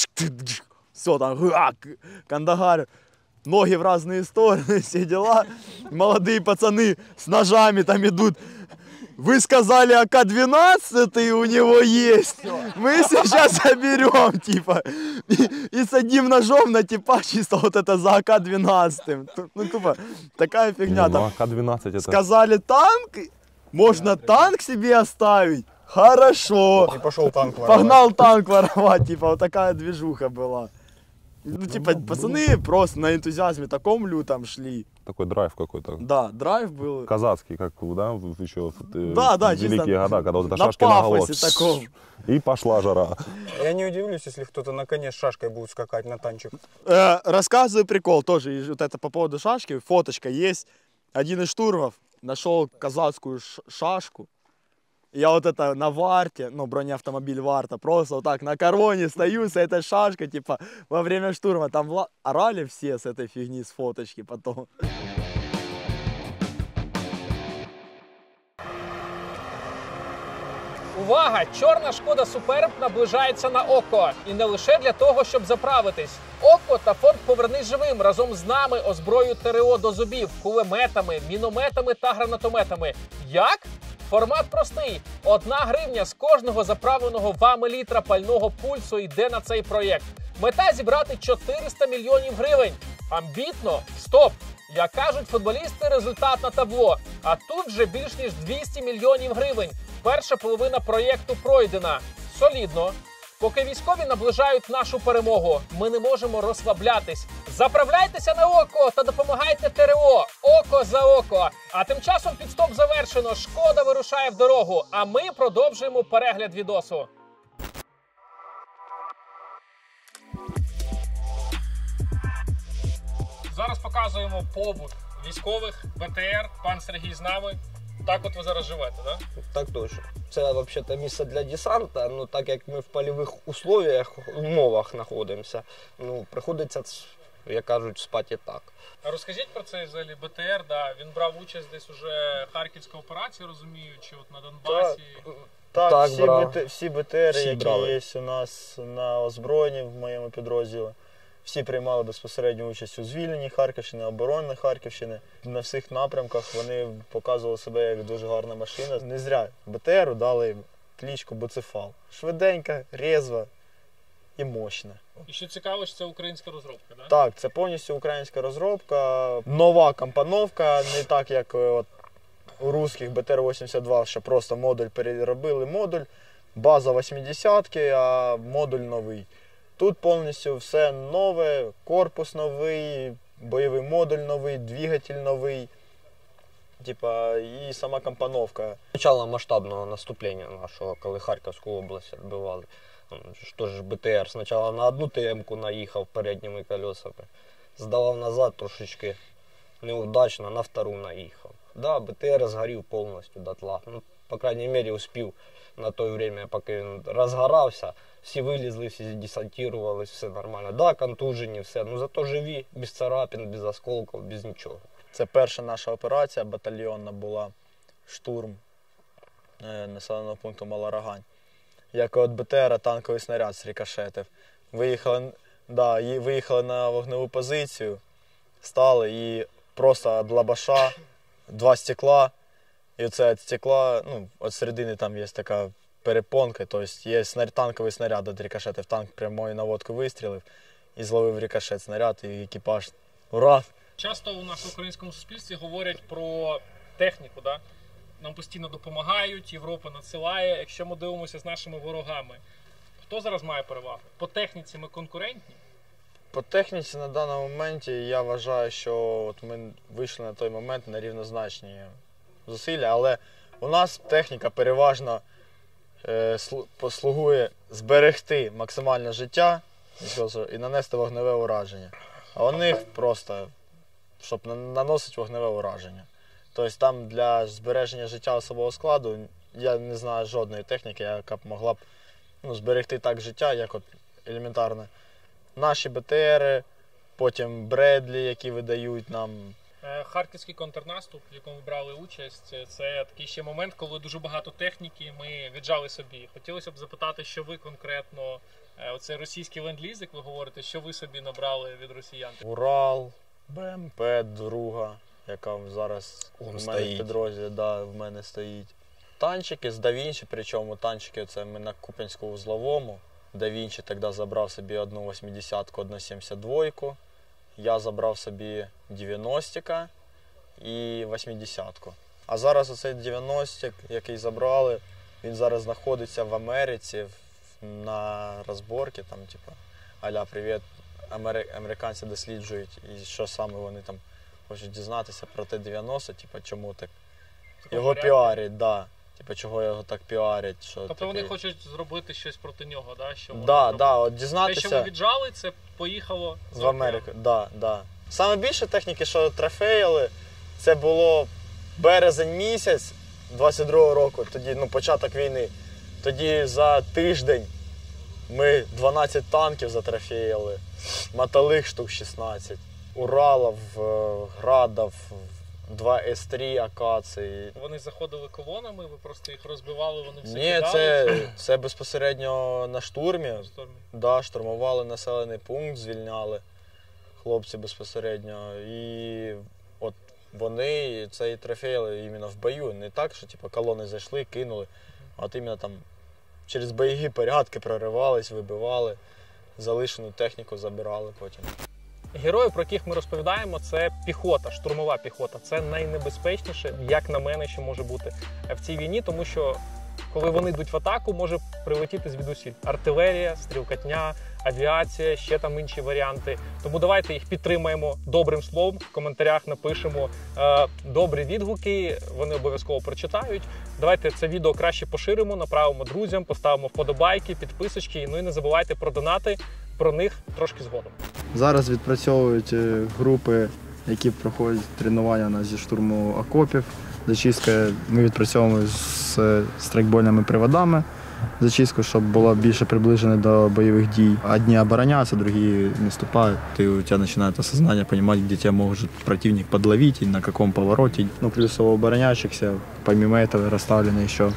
все там, Кандагар, ноги в разные стороны, все дела. Молодые пацаны с ножами там идут. Вы сказали, АК-12 у него есть. Мы сейчас заберем, типа. И садим ножом на типа чисто вот это за АК-12. Ну, тупо, такая фигня там. АК-12 это... Сказали танк, можно танк себе оставить. Хорошо. И пошел танк воровать. Погнал танк воровать, типа, вот такая движуха была. Ну, типа, пацаны просто на энтузиазме таком лютом шли. Такой драйв какой-то. Да, драйв был. Казацкий, как, да, еще Да, великие года, когда вот это на шашки на голову. пафосе таком. И пошла жара. Я не удивлюсь, если кто-то на коне с шашкой будет скакать на танчик. Рассказываю прикол тоже, и вот это по поводу шашки, фоточка есть. Один из штурмов нашел казацкую шашку. Я вот это на варте, ну, бронеавтомобиль варта, просто вот так на короне стою с этой шашкой, типа, во время штурма. Там орали все с этой фигни, с фоточки потом. Увага! Чорна Шкода Суперб наближається на ОККО. І не лише для того, щоб заправитись. ОККО та фонд «Повернись живим» разом з нами озброюють ТРО до зубів кулеметами, мінометами та гранатометами. Як? Формат простий. 1 гривня з кожного заправленого вами літра пального пульсу йде на цей проєкт. Мета – зібрати 400 мільйонів гривень. Амбітно? Стоп! Як кажуть футболісти, результат на табло. А тут вже більш ніж 200 мільйонів гривень. Перша половина проєкту пройдена. Солідно. Поки військові наближають нашу перемогу, ми не можемо розслаблятись. Заправляйтеся на ОККО та допомагайте ТРО. Око за око. А тим часом підстоп завершено. Шкода вирушає в дорогу. А ми продовжуємо перегляд відосу. Зараз показуємо побут військових, БТР, пан Сергій з нами. Так от ви зараз живете, так? Так точно. Це взагалі місце для десанта, ну так як ми в польових умовах знаходимося, ну приходиться, як кажуть, спати так. А розкажіть про цей взагалі БТР, да, він брав участь десь уже Харківська операція, розумію, чи от на Донбасі? Так, всі БТРи, які є у нас на озброєнні в моєму підрозділі, всі приймали безпосередню участь у звільненні Харківщини, обороні Харківщини. На всіх напрямках вони показували себе як дуже гарна машина. Не зря БТРу дали кличку Буцефал. Швиденька, резва і мощне. І що цікаво, що це українська розробка, так? Так, це повністю українська розробка, нова компоновка, не так як от у русських БТР-82, що просто модуль переробили модуль, база 80-ки, а модуль новий. Тут повністю все нове, корпус новий, бойовий модуль новий, двигатель новий, типа, і сама компоновка. Начало масштабного наступлення нашого, коли Харківську область відбивали. Що ж БТР спочатку на одну ТМ-ку наїхав передніми колесами, здавав назад трошечки неудачно, на втору наїхав. Да, БТР згорів повністю дотла. Ну, по крайней мере, успів на той время, поки він розгорався, всі вилізли, всі десантувались, все нормально. Да, контужені, все, ну зато живі, без царапин, без осколків, без нічого. Це перша наша операція батальйонна була, штурм населеного пункту Малорогань. Як от БТР танковий снаряд зрикошетив. Виїхали на вогневу позицію, стали і просто від лабаша 2 стекла. І оце від стекла, ну, від середини там є така перепонка, тобто є танковий снаряд від рикошетів. Танк прямою наводку вистрілив і зловив рикошет снаряд, і екіпаж ура! Часто у нас в українському суспільстві говорять про техніку, да? Нам постійно допомагають, Європа надсилає. Якщо ми дивимося з нашими ворогами, хто зараз має перевагу? По техніці ми конкурентні? По техніці на даному моменті я вважаю, що от ми вийшли на той момент на рівнозначні зусилля, але у нас техніка переважно послугує зберегти максимальне життя і нанести вогневе ураження. А у них просто, щоб наносити вогневе ураження. Тобто там для збереження життя особового складу я не знаю жодної техніки, яка б могла б зберегти так життя, як от елементарно наші БТРи, потім Бредлі, які видають нам. Харківський контрнаступ, в якому ви брали участь, це такий ще момент, коли дуже багато техніки ми віджали собі. Хотілося б запитати, що ви конкретно, оцей російський ленд-ліз, як ви говорите, що ви собі набрали від росіян? Урал, БМП друга, яка зараз у мене в підрозділі, в мене стоїть. Танчики з Да Вінчі, причому танчики це ми на Куп'янську-Вузловому. Да Вінчі тоді забрав собі одну 80-ку, одну 72-ку. Я забрав собі 90-ка і 80-ку. А зараз оцей 90-к, який забрали, він зараз знаходиться в Америці на розборці, там, типу, а-ля, привіт, американці досліджують, і що саме вони там хочуть дізнатися про Т-90, типу, чому так його піарять, да. Типу, чого його так піарять. Що тобто вони хочуть зробити щось проти нього, да? Що от дізнатися. Те, що ви віджали, це поїхало в Америку. Да. Саме більше техніки, що трофеїли, це було березень місяць 22-го року, тоді, початок війни. Тоді за тиждень ми 12 танків затрофеїли, мотолих штук 16, Уралів, Градів, 2 С3 акації. Вони заходили колонами, ви просто їх розбивали, вони все кидали? Ні, це безпосередньо на штурмі. Да, штурмували населений пункт, звільняли хлопці безпосередньо. І от вони цей трофеїли іменно в бою. Не так, що колони зайшли, кинули, а от іменно там через бойові порядки проривались, вибивали, залишену техніку забирали потім. Герої, про яких ми розповідаємо, це піхота, штурмова піхота. Це найнебезпечніше, як на мене, що може бути в цій війні, тому що коли вони йдуть в атаку, може прилетіти звідусіль. Артилерія, стрілкатня, авіація, ще там інші варіанти. Тому давайте їх підтримаємо добрим словом, в коментарях напишемо добрі відгуки, вони обов'язково прочитають. Давайте це відео краще поширимо, направимо друзям, поставимо вподобайки, підписочки, ну і не забувайте про донати, про них трошки згодом. Зараз відпрацьовують групи, які проходять тренування зі штурму окопів. Зачистка ми відпрацьовуємо з страйкбольними приводами. Зачистку, щоб було більше приближено до бойових дій. Одні обороняються, другі наступають. У тебе починає осознання, розуміти, де тебе може противник подловити, на якому повороті. Плюс у обороняющихся, помимо цього, розставлені ще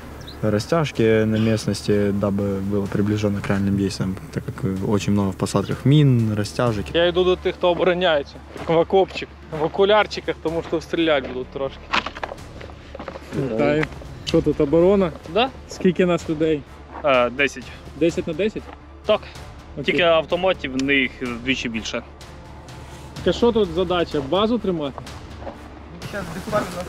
растяжки на местности, дабы было приближено к реальным действиям, так как очень много в посадках мин, растяжек. Я йду до тих, хто обороняється, в окопчик, в окулярчиках, тому що стріляти будуть трошки. Вітаю. Що тут, оборона? Да. Скільки нас людей? 10. 10 на 10? Так. Тільки автоматів в них вдвічі більше. Так що тут задача? Базу тримати? Зараз буквально на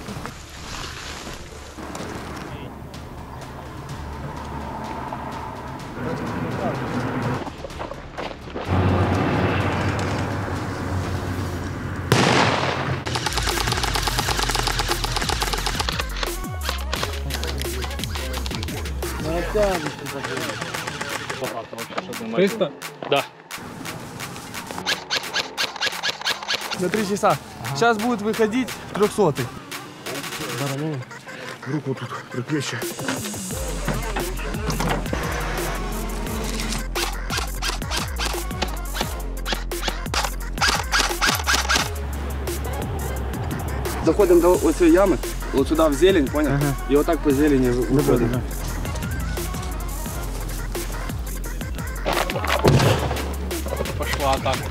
Багато вообще, що 300? Да. на 3 часа. Сейчас будет выходить 300-й. Руку тут приплечье. Заходим до вот этой ямы, вот сюда в зелень, понял? И вот так по зелени выходим. Пошла атака.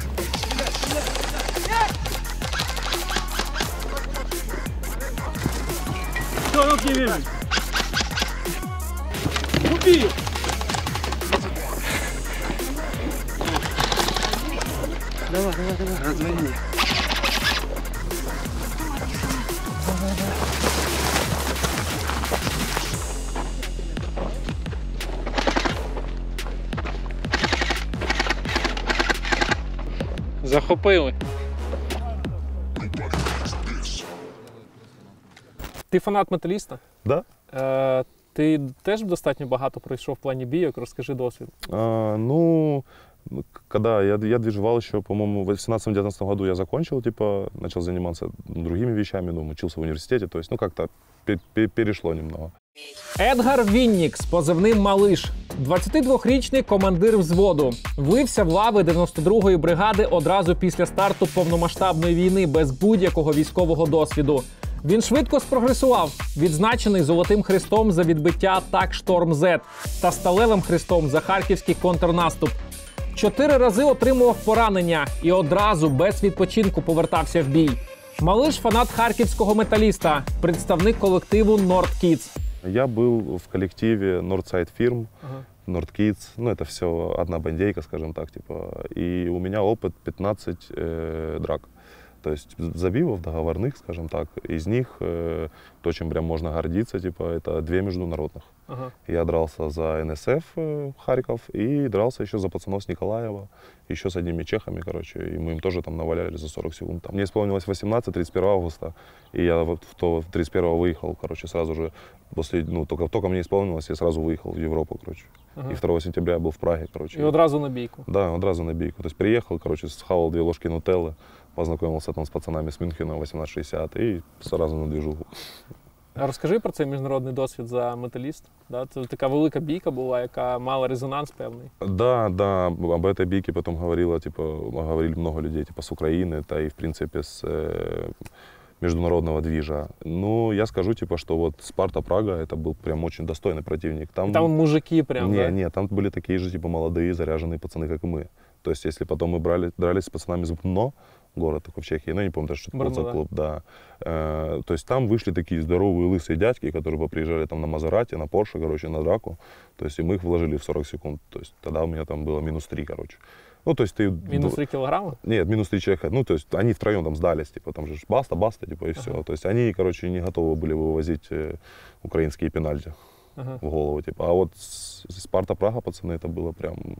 Що руки візьмуть? Убій! Давай, разверни. Захопили. Ти фанат металіста? Да. Ти теж достатньо багато пройшов в плані бійок, розкажи досвід. Ну, когда я движевал еще, по-моему, в 18-19 году я закончил, типа, начал заниматься другими вещами, ну, учился в университете, то есть, ну, как-то перешло немного. Едгар Віннік з позивним «Малиш». 22-річний командир взводу. Влився в лави 92-ї бригади одразу після старту повномасштабної війни без будь-якого військового досвіду. Він швидко спрогресував, відзначений Золотим Хрестом за відбиття атак «Шторм-З» та Сталевим Хрестом за харківський контрнаступ. 4 рази отримував поранення і одразу без відпочинку повертався в бій. Малиш – фанат харківського металіста, представник колективу Nordkids. Я был в коллективе Northside Firm, Nordkids, ну это все одна бандейка, скажем так, типа, и у меня опыт 15 драк. То есть забивов договорных, скажем так, из них то, чем прям можно гордиться, типа, это 2 международных. Я дрался за НСФ Харьков и дрался еще за пацанов с Николаева, еще с одними чехами, короче, и мы им тоже там наваляли за 40 секунд. Мне исполнилось 18, 31 августа, и я вот 31-го выехал, короче, сразу же, после, ну, только мне исполнилось, я сразу выехал в Европу, короче. И 2 сентября я был в Праге, короче. И одразу на бійку? Да, одразу на бійку. То есть приехал, короче, схавал 2 ложки нутеллы, познакомился там с пацанами с Мюнхена 1860 и сразу на движуху. А розкажи про цей міжнародний досвід за металіст. Да? Це така велика бійка була, яка мала резонанс певний. Да, об этой бійке потом говорили много людей, типа с Украины, да и в принципе с международного движа. Ну, я скажу, типа, что вот Спарта Прага, это был прям очень достойный противник. Там мужики прям, да? Не, там были такие же, типа, молодые, заряженные пацаны, как и мы. То есть, если потом мы дрались с пацанами из Брно, город такой в Чехии, ну, я не помню даже, что это был за клуб, да. То есть, там вышли такие здоровые лысые дядьки, которые приезжали там на Мазерате, на Порше, короче, на драку. То есть, и мы их вложили в 40 секунд. То есть, тогда у меня там было -3, короче. Ну, то есть ты... Минус 3 килограмма? Нет, -3 человека. Ну, то есть они втроем там сдались, типа, там же баста, типа, и все. То есть они, короче, не готовы были вывозить украинские пенальти в голову, типа. А вот Спарта Прага, пацаны, это было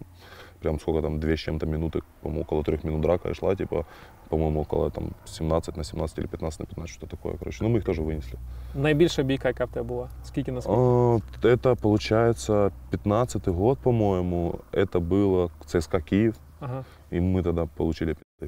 прям сколько там, 2 с чем-то минуты, по-моему, около 3 минут драка шла, типа, по-моему, около там 17 на 17 или 15 на 15, что такое, короче. Ну, мы их тоже вынесли. Найбільша бійка, яка в тебе була? Скільки на скільки? Это, получается, 15-й год, по-моему. Это было ЦСКА Киев. И мы тогда получили пи***.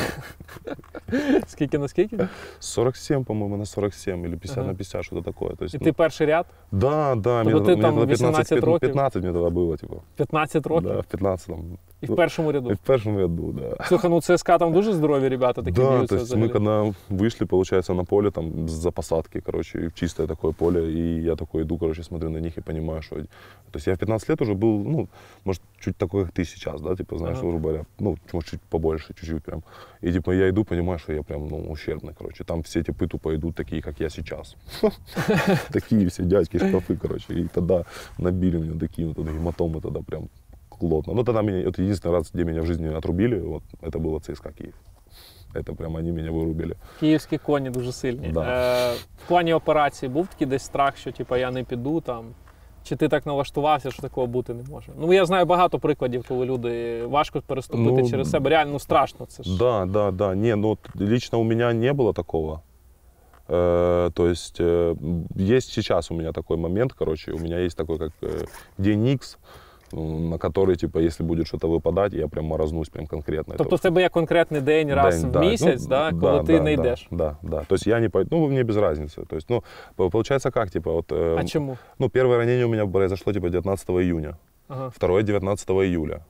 Скільки на скільки? 47, по-моему, на 47 или 50 на 50, что-то такое. То есть, и ты перший ряд? Да. Тобто ти там 18 років? 15 мне тогда было, типа. 15 років? Да, в 15-м. І в першому ряду? И в першому ряду, да. Слухай, ну ЦСКА там дуже здорові ребята такі б'ються. Да, то есть мы когда вышли, получается, на поле, там, за посадки, короче, в чистое такое поле, и я такой иду, короче, смотрю на них и понимаю, что... То есть я в 15 лет уже был, ну, может, чуть такой, как ты сейчас, да, типа, знаешь, грубо говоря, ну, может, чуть побольше, чуть-чуть прям. И, типа, я иду, понимаю, что я прям, ну, ущербный, короче. Там все типы тупо идут такие, как я сейчас. Такие все дядьки, шкафы, короче. И тогда набили мне такие вот гематомы тогда прям плотно. Ну, тогда меня, это единственный раз, где меня в жизни отрубили, вот, это было ЦСКА Киев. Это прям они меня вирубили. Київські коні дуже сильні. Да. В плані операції був такий десь страх, що типу, я не піду там? Чи ти так налаштувався, що такого бути не може? Ну, я знаю багато прикладів, коли люди важко переступити через себе. Реально страшно це ж. Да. Не, ну, лично у меня не было такого. То есть есть сейчас у меня такой момент, короче, у меня есть такой как день X, на который, типа, если будет что-то выпадать, я прям морознусь прям конкретно. Тобто в тебе є конкретний день раз в місяць, ну, коли ти не йдеш? Да. То есть я не пойду, ну, мне без разницы. То есть, ну, получается как, типа, вот... А чему? Ну, первое ранение у меня произошло, типа, 19 июня, второе 19 июля.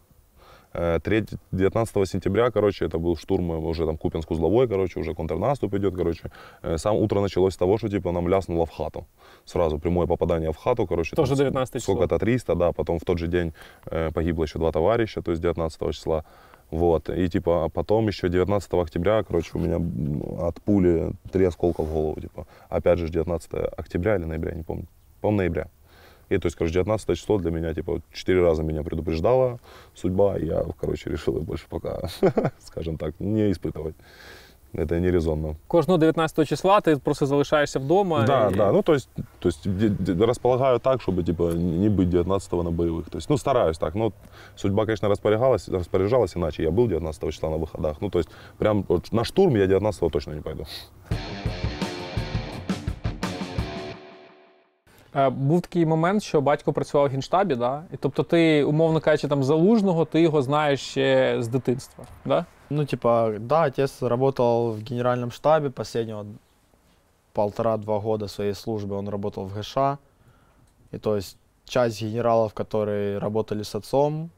19 сентября, короче, это был штурм уже там Купянск-Узловой, короче, уже контрнаступ идет, короче. Сам утро началось с того, что, типа, нам ляснуло в хату. Сразу прямое попадание в хату, короче. Тоже 19 числа. Сколько-то 300, да, потом в тот же день погибло еще 2 товарища, то есть 19 числа. Вот, и, типа, потом еще 19 октября, короче, у меня от пули 3 осколка в голову, типа. Опять же, 19 октября или ноября, не помню. По-моему, ноября. И, то есть, короче, 19 число для меня, типа, 4 раза меня предупреждала судьба, и я, короче, решил их больше пока, скажем так, не испытывать. Это не резонно. Кожного 19 числа ти просто залишаєшся вдома? Да, ну, то есть располагаю так, чтобы, типа, не быть 19-го на боевых. То есть, ну, стараюсь так, но судьба, конечно, распоряжалась иначе. Я был 19 числа на выходах, ну, то есть, прям вот, на штурм я 19-го точно не пойду. Був такий момент, що батько працював в Генштабі, да? І тобто ти, умовно кажучи, там Залужного, ти його знаєш ще з дитинства, да? Ну, типа, да, отец работал в генеральном штабе последнего 1,5-2 года своей службы, он работал в ГШ. И то есть часть генералов, которые работали с отцом,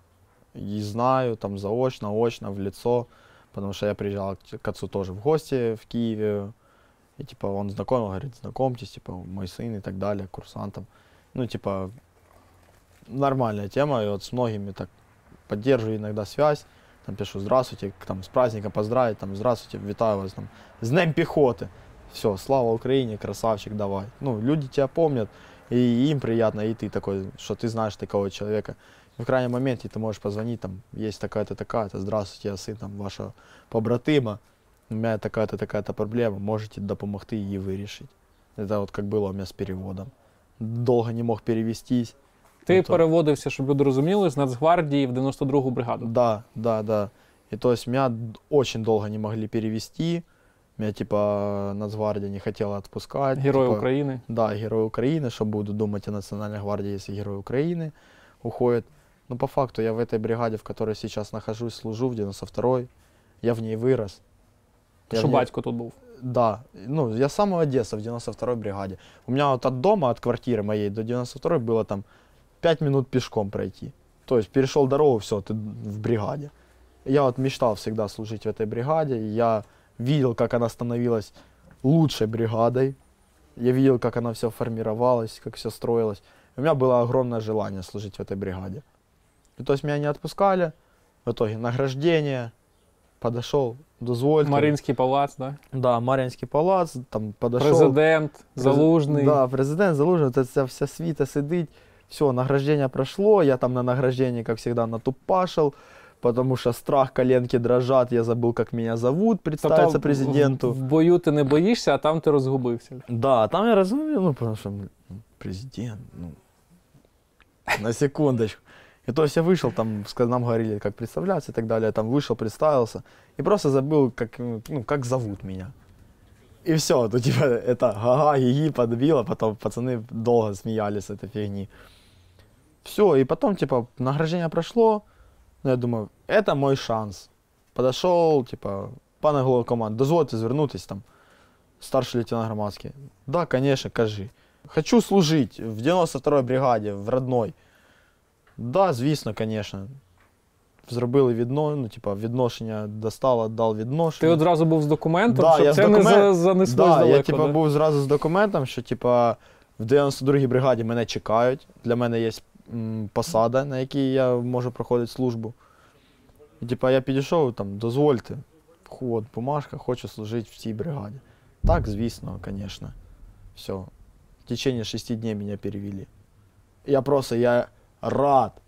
и знаю, там заочно, очно, в лицо, потому что я приезжал к отцу тоже в гости в Киеве. И типа он знакомил, говорит, знакомьтесь, типа мой сын и так далее, курсантом. Ну, типа, нормальная тема, и вот с многими так поддерживаю иногда связь. Там пишу, здравствуйте, там с праздником поздравить, там, здравствуйте, витаю вас, там, с Днем пехоты. Все, слава Украине, красавчик, давай. Ну, люди тебя помнят, и им приятно, и ты такой, что ты знаешь такого человека. И в крайнем моменте ты можешь позвонить, там, есть такая-то, такая-то, здравствуйте, я сын там вашего побратима. У меня такая-то, такая-то проблема, можете допомогти її вирішити. Это вот как было у меня с переводом. Долго не мог перевестись. Ти переводився, щоб люди розуміли, з Нацгвардії в 92-гу бригаду. Да. И то есть меня очень долго не могли перевести. Меня типа Нацгвардия не хотела отпускать. Герой типа, Украины. Да, Герой Украины, что буду думать о Национальной гвардии, если Герой Украины уходит. Но по факту я в этой бригаде, в которой сейчас нахожусь, служу, в 92-й. Я в ней вырос. Що батько тут був? Да. Ну, я с самого детства в 92-й бригаде. У меня вот от дома, от квартиры моей до 92-й было там 5 минут пешком пройти. То есть перешел дорогу, все, ты в бригаде. Я вот мечтал всегда служить в этой бригаде. Я видел, как она становилась лучшей бригадой. Я видел, как она все формировалась, как все строилось. У меня было огромное желание служить в этой бригаде. И то есть меня не отпускали. В итоге награждение. Подошел, дозвольте. Мар'їнський палац, да? Да, Мар'їнський палац, там подошел. Президент, Залужний. Да, президент, Залужний, вот эта вся свита сидит. Все, награждение прошло, я там на награждении, как всегда, натупашил, потому что страх, коленки дрожат, я забыл, как меня зовут, представиться тобто, президенту. В бою ти не боїшся, а там ти розгубився. Да, там я разумел, ну, потому что президент, ну, на секундочку. И то есть я вышел, там нам говорили, как представляться и так далее, я там вышел, представился, и просто забыл, как зовут меня. И все, то типа это га-га, ги-ги подбило, потом пацаны долго смеялись с этой фигни. Все, и потом типа награждение прошло, я думаю, это мой шанс. Подошел, типа, пане голову команды, дозвольте звернутись, там, старший лейтенант Громадський. Да, конечно, кажи. Хочу служить в 92-й бригаде, в родной. Да, звісно, звісно. Зробили відношення, достав, дав відношення. Ти одразу був з документом, да, щоб це не занеслось далеко? Я був зразу з документом, що в 92-й бригаді мене чекають. Для мене є посада, на якій я можу проходити службу. І я підійшов, там, дозвольте, от бумажка, хочу служити в цій бригаді. Так, звісно, звісно. Все. В течение 6 дней меня перевели. Я рад.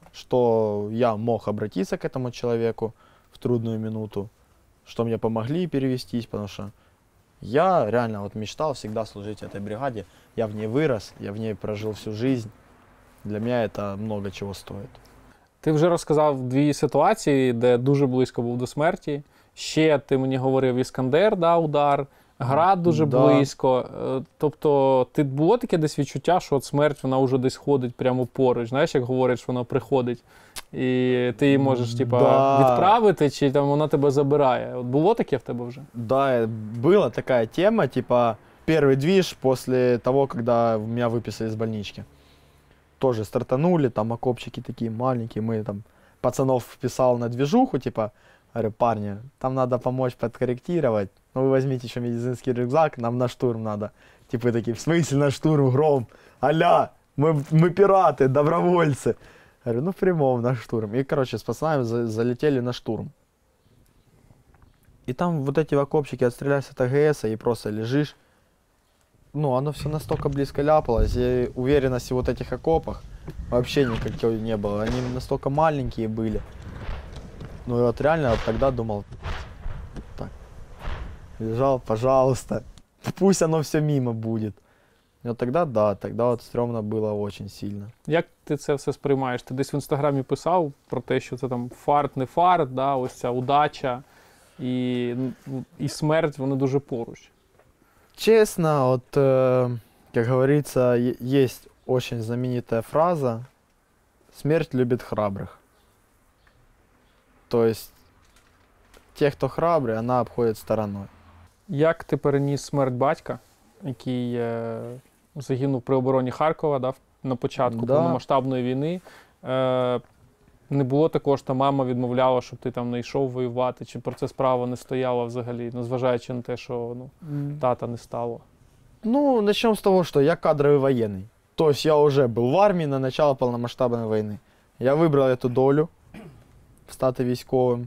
что я мог обратиться к этому человеку в трудную минуту, что мне помогли перевестись, потому что я реально вот мечтал всегда служить этой бригаде. Я в ней вырос, я в ней прожил всю жизнь. Для меня это много чего стоит. Ти вже розказав дві ситуації, де дуже близько був до смерті. Ще ти мені говорив Іскандер, да, удар, Град дуже близько. Тобто, ти було таке десь відчуття, що от смерть, вона вже десь ходить прямо поруч. Знаєш, як говорять, що вона приходить, і ти її можеш відправити, чи там вона тебе забирає. От було таке в тебе вже? Да, была такая тема, типа, первый движ после того, когда меня выписали из больнички. Тоже стартанули, там окопчики такие маленькие, мы там пацанов вписал на движуху, типа, говорю, парни, там надо помочь подкорректировать, ну вы возьмите еще медицинский рюкзак, нам на штурм надо. Типа такие, в смысле на штурм, Гром? Аля, мы пираты, добровольцы. Говорю, ну в прямом на штурм. И, короче, с пацанами залетели на штурм. И там вот эти окопчики отстрелялись от АГС, и просто лежишь. Ну, оно все настолько близко ляпалось, и уверенности в вот этих окопах вообще никакой не было. Они настолько маленькие были. Ну и вот реально вот тогда думал, так, лежал, пожалуйста, пусть оно все мимо будет. И вот тогда, да, тогда вот стрёмно было очень сильно. Як ти це все сприймаєш? Ти десь в інстаграмі писав про те, що це там фарт, не фарт, да, ось ця удача і смерть, вони дуже поруч. Честно, вот, как говорится, есть очень знаменитая фраза «Смерть любит храбрых». То есть, те, хто храбрий, вона обходить стороною. Як ти переніс смерть батька, який загинув при обороні Харкова, да, на початку повномасштабної війни? Не було також, що мама відмовляла, щоб ти там не йшов воювати, чи про це справа не стояла взагалі, незважаючи на те, що тата не стало? Ну, начнем с того, что я кадровый военный. То есть я уже был в армии на начало полномасштабной войны. Я выбрал эту долю, стати військовым.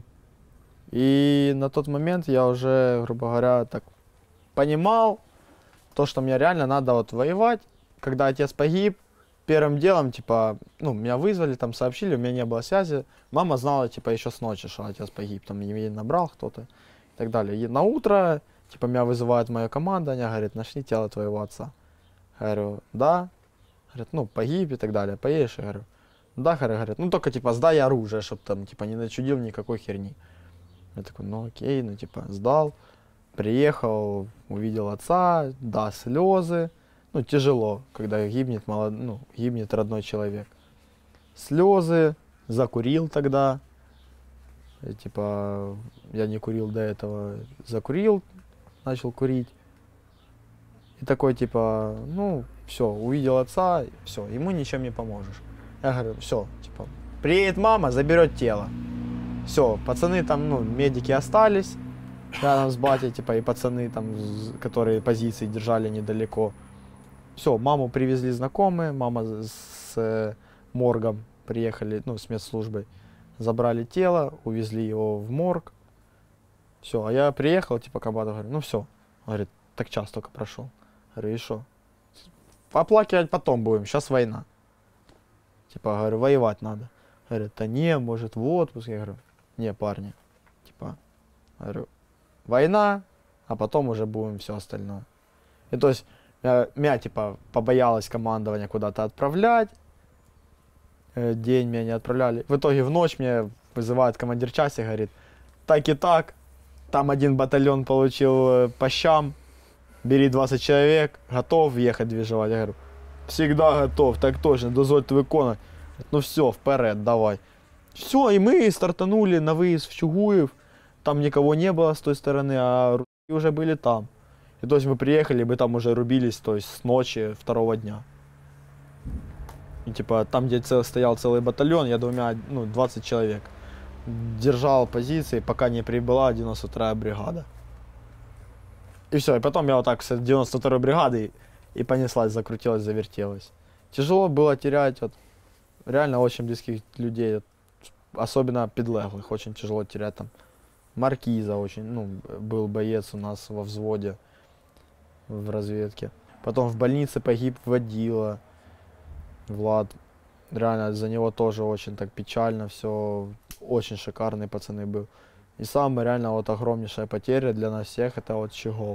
И на тот момент я уже, грубо говоря, так понимал, то, что мне реально надо вот воевать. Когда отец погиб, первым делом, типа, ну, меня вызвали, там сообщили, у меня не было связи. Мама знала, типа, еще с ночи, что отец погиб, там, ей набрал кто-то и так далее. И на утро, типа, меня вызывает моя команда, они говорят, нашли тело твоего отца. Говорю, да. Говорят, ну, погиб и так далее, поедешь? Я говорю, да, говорят, ну, только, типа, сдай оружие, чтобы там, типа, не начудил никакой херни. Я такой, ну, окей, ну, типа, сдал, приехал, увидел отца, да, слезы. Ну, тяжело, когда гибнет, гибнет родной человек. Слезы, закурил тогда. И, типа, я не курил до этого, закурил, начал курить. И такой, типа, ну, все, увидел отца, все, ему ничем не поможешь. Я говорю, все, типа, приедет мама, заберет тело. Все, пацаны там, ну, медики остались рядом с батей, типа, и пацаны там, которые позиции держали недалеко. Все, маму привезли знакомые, мама с моргом приехали, ну, с медслужбой, забрали тело, увезли его в морг. Все, а я приехал, типа, комбату, говорю, ну все. Говорит, так час только прошел. Говорю, и что? Оплакивать потом будем, сейчас война. Типа, говорю, воевать надо. Говорит, да не, может в отпуск. Я говорю, не, парни, типа, говорю, война, а потом уже будем все остальное. И то есть, меня, типа, побоялось командование куда-то отправлять. День меня не отправляли. В итоге в ночь мне вызывает командир части, говорит, так и так, там один батальон получил по щам, бери 20 человек, готов ехать движевать. Я говорю, всегда готов, так точно, дозвольте виконувати. Ну все, вперед, давай. Все, и мы стартанули на выезд в Чугуев. Там никого не было с той стороны, а уже были там. И то есть мы приехали, мы там уже рубились, то есть с ночи второго дня. И типа там, где стоял целый батальон, я 20 человек. Держал позиции, пока не прибыла 92-я бригада. И все, и потом я вот так с 92-й бригады и понеслась, закрутилась, завертелась. Тяжело было терять, вот, реально очень близких людей, особенно подлеглых, очень тяжело терять там. Маркиза очень, был боец у нас во взводе в разведке. Потом в больнице погиб водила Влад. Реально за него тоже очень так печально все. Очень шикарный пацаны был. И самая реально вот огромнейшая потеря для нас всех — это вот Щегол.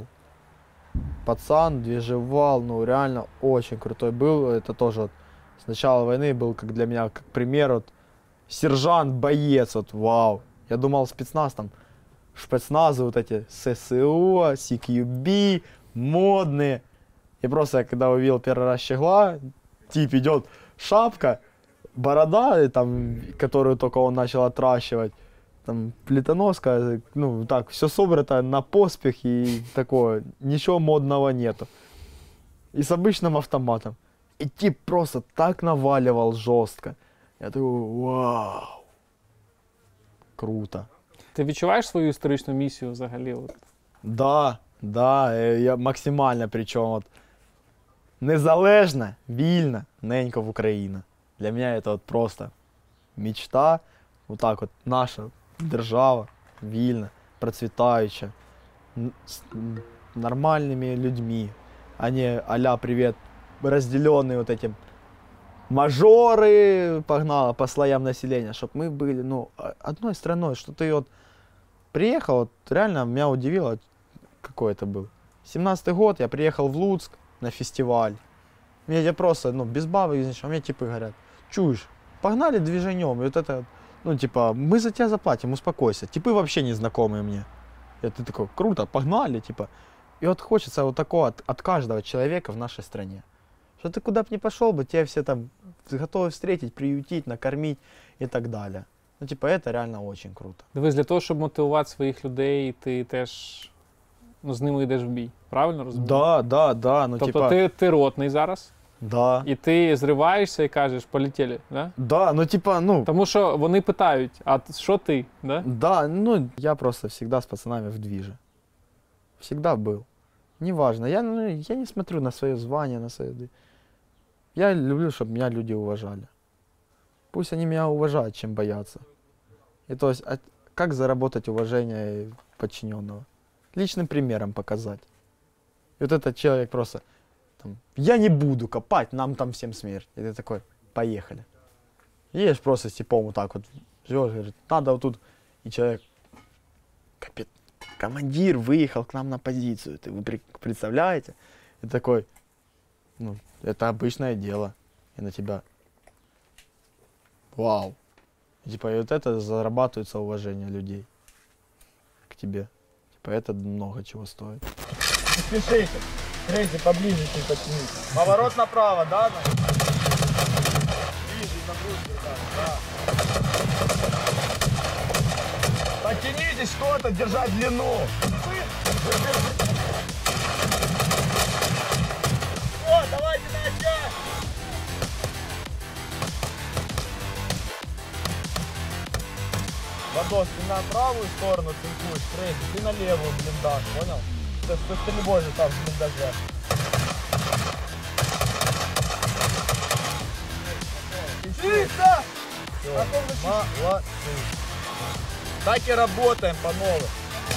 Пацан, движевал, ну реально очень крутой был. Это тоже вот с начала войны был как для меня, как пример, вот сержант, боец, вот вау. Я думал спецназ там, спецназы вот эти ССО, CQB, модные. И просто когда увидел первый раз Щегла, тип идет, шапка, борода, там, которую только он начал отращивать, там, плитоноска, ну, так, все собрано на поспех и такое, ничего модного нету. И с обычным автоматом. И тип просто так наваливал жестко. Я такой, вау, круто. Ти відчуваєш свою історичну місію взагалі? От? Да, я максимально, причому от, незалежна, вільна, ненька в Україна. Для мене це от просто мечта. Вот так от наша держава, вільна, процвітаюча, з нормальними людьми, а не а-ля привет, разделенные вот этим мажоры, погнало по слоям населения, чтобы мы были, ну, одной страной, что ты вот приехал, вот реально меня удивило, какой это был. 17-й год, я приехал в Луцк на фестиваль. Я просто, ну, без бабы, а мне типы говорят, чушь, погнали движенем, и вот это, ну, типа, мы за тебя заплатим, успокойся. Типы вообще незнакомые мне. И ты такой, круто, погнали, типа. И вот хочется вот такого от каждого человека в нашей стране. Что ты куда бы ни пошел бы, тебя все там готовы встретить, приютить, накормить и так далее. Ну, типа, это реально очень круто. Дивись, для того, щоб мотивувати своїх людей, ти теж, ну, з ними йдеш в бій. Правильно розумію? Да. Ну, тобто типа... ти ротний зараз? Да. І ти зриваєшся і кажеш, полетіли, да? Да, ну типа, ну... Тому що вони питають, а що ти, да? Да, ну я просто всегда с пацанами в движе. Всегда был. Неважно, я не смотрю на свое звание, на свое... Я люблю, чтобы меня люди уважали. Пусть они меня уважают, чем боятся. И то есть, как заработать уважение подчиненного? Личным примером показать. И вот этот человек просто... Там, я не буду копать, нам там всем смерть. И ты такой, поехали. Едешь просто с типом вот так вот, живешь, говорит, надо вот тут. И человек, командир выехал к нам на позицию. Вы представляете? И такой, ну, это обычное дело. И на тебя, вау. И, типа, и вот это зарабатывается уважение людей к тебе. Типа, это много чего стоит. Не спешите. Крейзи, поближе чуть подтянись. Поворот направо, да? Ближе, на брусья, да. Подтянитесь что-то, держать длину. О, давайте на отчет. Вадос, ты на правую сторону цинкуешь, Крейзи, ты на левую блиндаж, понял? То есть ты не можешь там в блиндаже. Чисто! Молодцы. Так и работаем по новым.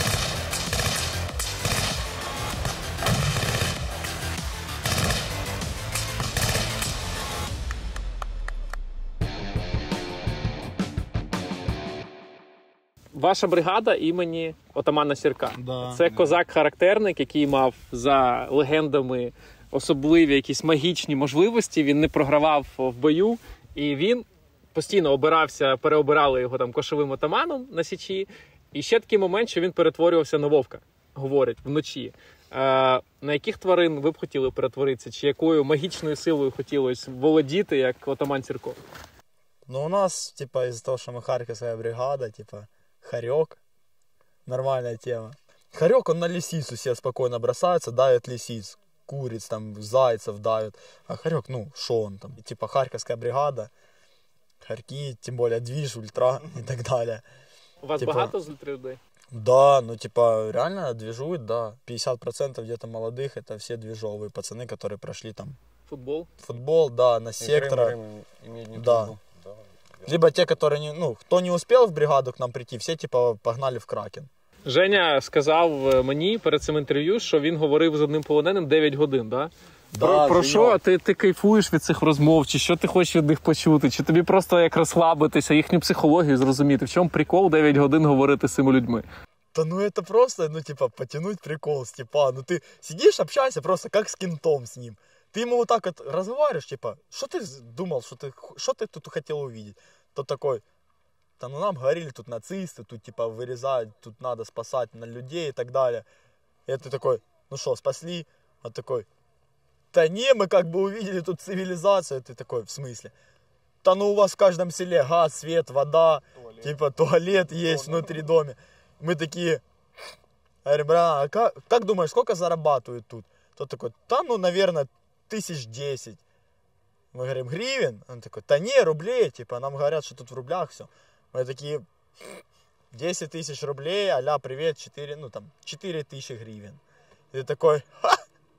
Ваша бригада імені отамана Сірка. Да. Це козак-характерник, який мав за легендами особливі якісь магічні можливості. Він не програвав в бою, і він постійно переобирали його там кошовим отаманом на Січі. І ще такий момент, що він перетворювався на вовка, говорять, вночі. На яких тварин ви б хотіли перетворитися? Чи якою магічною силою хотілося володіти, як отаман Сірко? Ну, у нас, типа, из-за того, что мы харьковская бригада, типа, хорек, нормальная тема. Хорек, он на лисицу себе спокойно бросается, давит лисиц, куриц, там, зайцев давит. А хорек, ну, шо он там? Типа, харьковская бригада, хорьки, тем более движ, ультра и так далее. У вас типа, багато з людей? Да, ну, типа, реально движуют, да. 50% где-то молодых, это все движовые пацаны, которые прошли там... Футбол, да, на сектора. Да. Либо те, которые не, ну, кто не успел в бригаду к нам прийти, все типа погнали в Кракен. Женя сказав мені перед цим інтерв'ю, що він говорив з одним полоненим 9 годин, да? Про що ти кайфуєш від цих розмов? Чи що ти хочеш від них почути? Чи тобі просто як розслабитися, їхню психологію зрозуміти? В чому прикол 9 годин говорити з цими людьми? Да ну это просто, ну типа, потянуть прикол, Степан. Ну ты сидишь, общаешься просто как с кентом с ним. Ты ему вот так вот разговариваешь, типа, что ты думал, что ты тут хотел увидеть? Тот такой, да ну нам говорили, тут нацисты, тут типа вырезать, тут надо спасать на людей и так далее. И ты такой, ну что, спасли? Он такой, да не, мы как бы увидели тут цивилизацию. Ты такой, в смысле? Да ну у вас в каждом селе газ, свет, вода, туалет. Типа туалет есть внутри дома. Мы такие, говорим, бра, а как думаешь, сколько зарабатывают тут? Тот такой, да ну, наверное, 1010. Мы говорим, гривен? Он такой, да не, рублей, типа, нам говорят, что тут в рублях все. Мы такие, 10 тысяч рублей, а-ля, привет, 4, ну там, 4000 гривен. И ты такой, ха!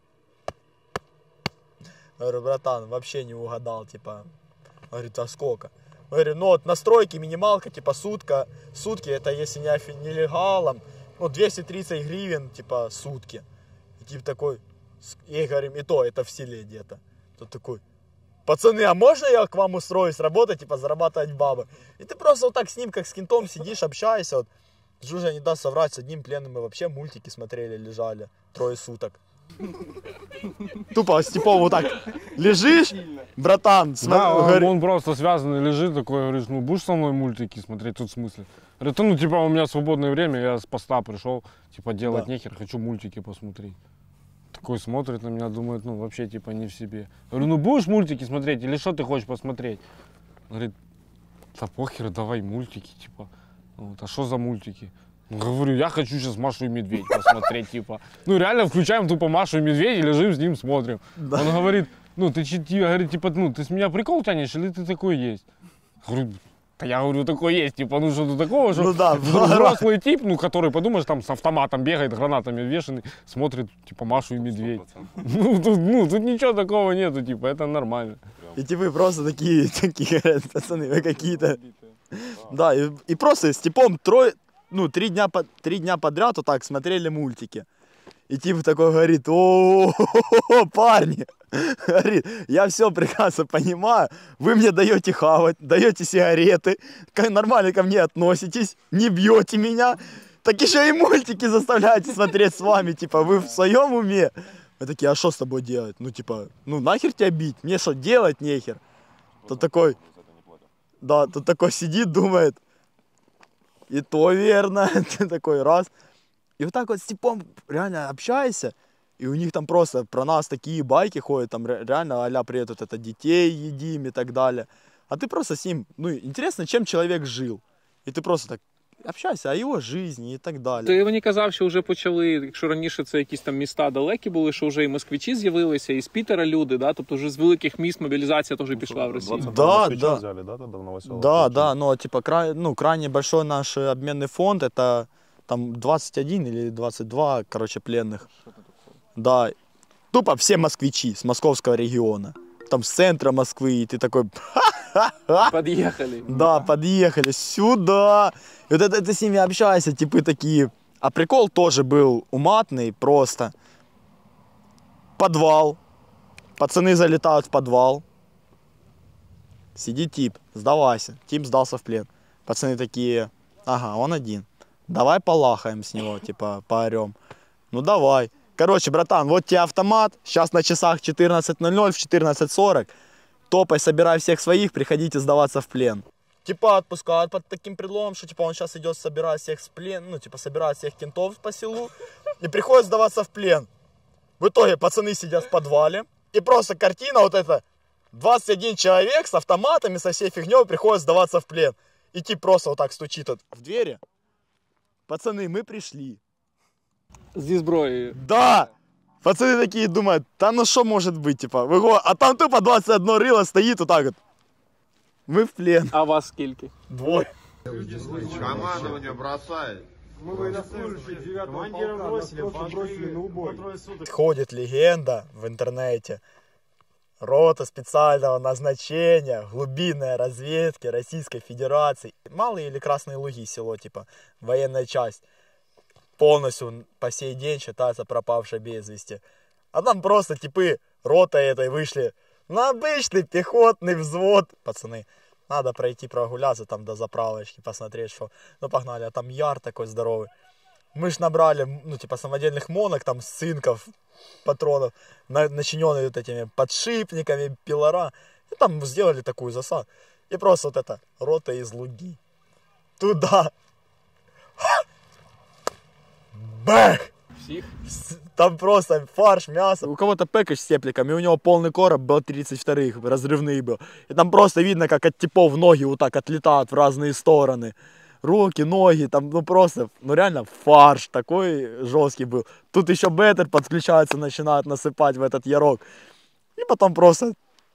Говорю, братан, вообще не угадал, типа. Говорит, а сколько? Мы говорим, ну вот настройки, минималка, типа сутки, это если не нелегалом, ну 230 гривен, типа сутки. И типа такой, и говорим, и то, это в селе где-то. Тот такой, пацаны, а можно я к вам устроюсь работать, типа зарабатывать бабы? И ты просто вот так с ним, как с кентом, сидишь, общаешься. Вот. Жужа не даст соврать, с одним пленным мы вообще мультики смотрели, лежали 3 суток. Тупо Степов вот так лежишь, братан. Да, он просто связанный лежит, такой, говоришь, ну будешь со мной мультики смотреть, тут в смысле? Говорит, ну типа у меня свободное время, я с поста пришел, типа делать нехер, хочу мультики посмотреть. Такой смотрит на меня, думает, ну вообще типа не в себе. Говорю, ну будешь мультики смотреть или что ты хочешь посмотреть? Говорит, да похер, давай мультики, типа. Вот, а что за мультики? Говорю, я хочу сейчас Машу и Медведь посмотреть, типа. Ну реально включаем тупо Машу и Медведь и лежим с ним, смотрим. Да. Он говорит, ну ты говорит, типа, ну ты с меня прикол тянешь или ты такой есть? Говорю, да я говорю, такой есть, типа, ну что-то такого, что взрослый тип, ну который, подумаешь, там с автоматом бегает, гранатами вешанный, смотрит, типа, Машу и Медведь. Ну тут ничего такого нету, типа, это нормально. И типа просто такие говорят, пацаны, вы какие-то... Да, и просто с типом 3 дня подряд вот так смотрели мультики. И типа такой говорит, о, парни, говорит, я все прекрасно понимаю, вы мне даете хавать, даете сигареты, нормально ко мне относитесь, не бьете меня, так еще и мультики заставляете смотреть с вами, типа, вы в своем уме? Мы такие, а что с тобой делать? Ну типа, ну нахер тебя бить, мне что делать нехер? Тот такой, да, тот такой сидит, думает, и то верно, ты такой раз. И вот так вот с типом реально общаешься, и у них там просто про нас такие байки ходят, там реально а-ля приедут, это детей едим и так далее. А ты просто с ним, ну интересно, чем человек жил. И ты просто так общаєшся, о його житті і так далі. Ти мені казав, що вже почали, якщо раніше це якісь там міста далекі були, що вже і москвичі з'явилися, і з Пітера люди, да? Тобто вже з великих міст мобілізація теж пішла в Росію. Да, но типа крайне большой наш обменный фонд, это там 21 или 22, короче, пленных. Да, тупо все москвичи с московского региона. Там с центра Москвы, и ты такой... Подъехали. Да, подъехали сюда. И вот это ты с ними общаешься, типы такие. А прикол тоже был уматный, просто. Подвал. Пацаны залетают в подвал. Сидит тип, сдавайся. Тип сдался в плен. Пацаны такие, ага, он один. Давай полахаем с него, типа, поорем. Ну давай. Короче, братан, вот тебе автомат. Сейчас на часах 14:00, в 14:40. Топай, собирай всех своих, приходите сдаваться в плен. Типа отпускают под таким предлогом, что типа он сейчас идет собирать всех с плен, ну типа собирать всех кентов по селу и приходит сдаваться в плен. В итоге пацаны сидят в подвале и просто картина вот эта. 21 человек с автоматами, со всей фигней приходит сдаваться в плен. И тип просто вот так стучит вот в двери. Пацаны, мы пришли. Зі зброєю. Да! Пацаны такие думают, да ну что может быть, типа, а там тупо 21 рыло стоит вот так вот. Мы в плен. А вас скільки? 2. Командование бросает. Мы военнослужащие 9-го полка, бросили на убой. Ходит легенда в интернете. Рота специального назначения, глубинной разведки Российской Федерации. Малые или Красные Луги село, типа, военная часть. Полностью по сей день считается пропавшей без вести. А там просто типы ротой этой вышли на обычный пехотный взвод. Пацаны, надо пройти прогуляться там до заправочки, посмотреть, что. Ну, погнали, а там яр такой здоровый. Мы ж набрали, ну, типа, самодельных монок, там, цинков, патронов, начиненные вот этими подшипниками, пилора. И там сделали такую засаду. И просто вот это, рота из Луги. Туда. Бэх! Всіх? Там просто фарш, мясо. У кого-то пэкэдж с тепликом, и у него полный короб был 32-х, разрывный был. И там просто видно, как от типов ноги вот так отлетают в разные стороны. Руки, ноги, там, ну просто, ну реально фарш такой жесткий был. Тут еще беттер подключается, начинают насыпать в этот ярок. И потом просто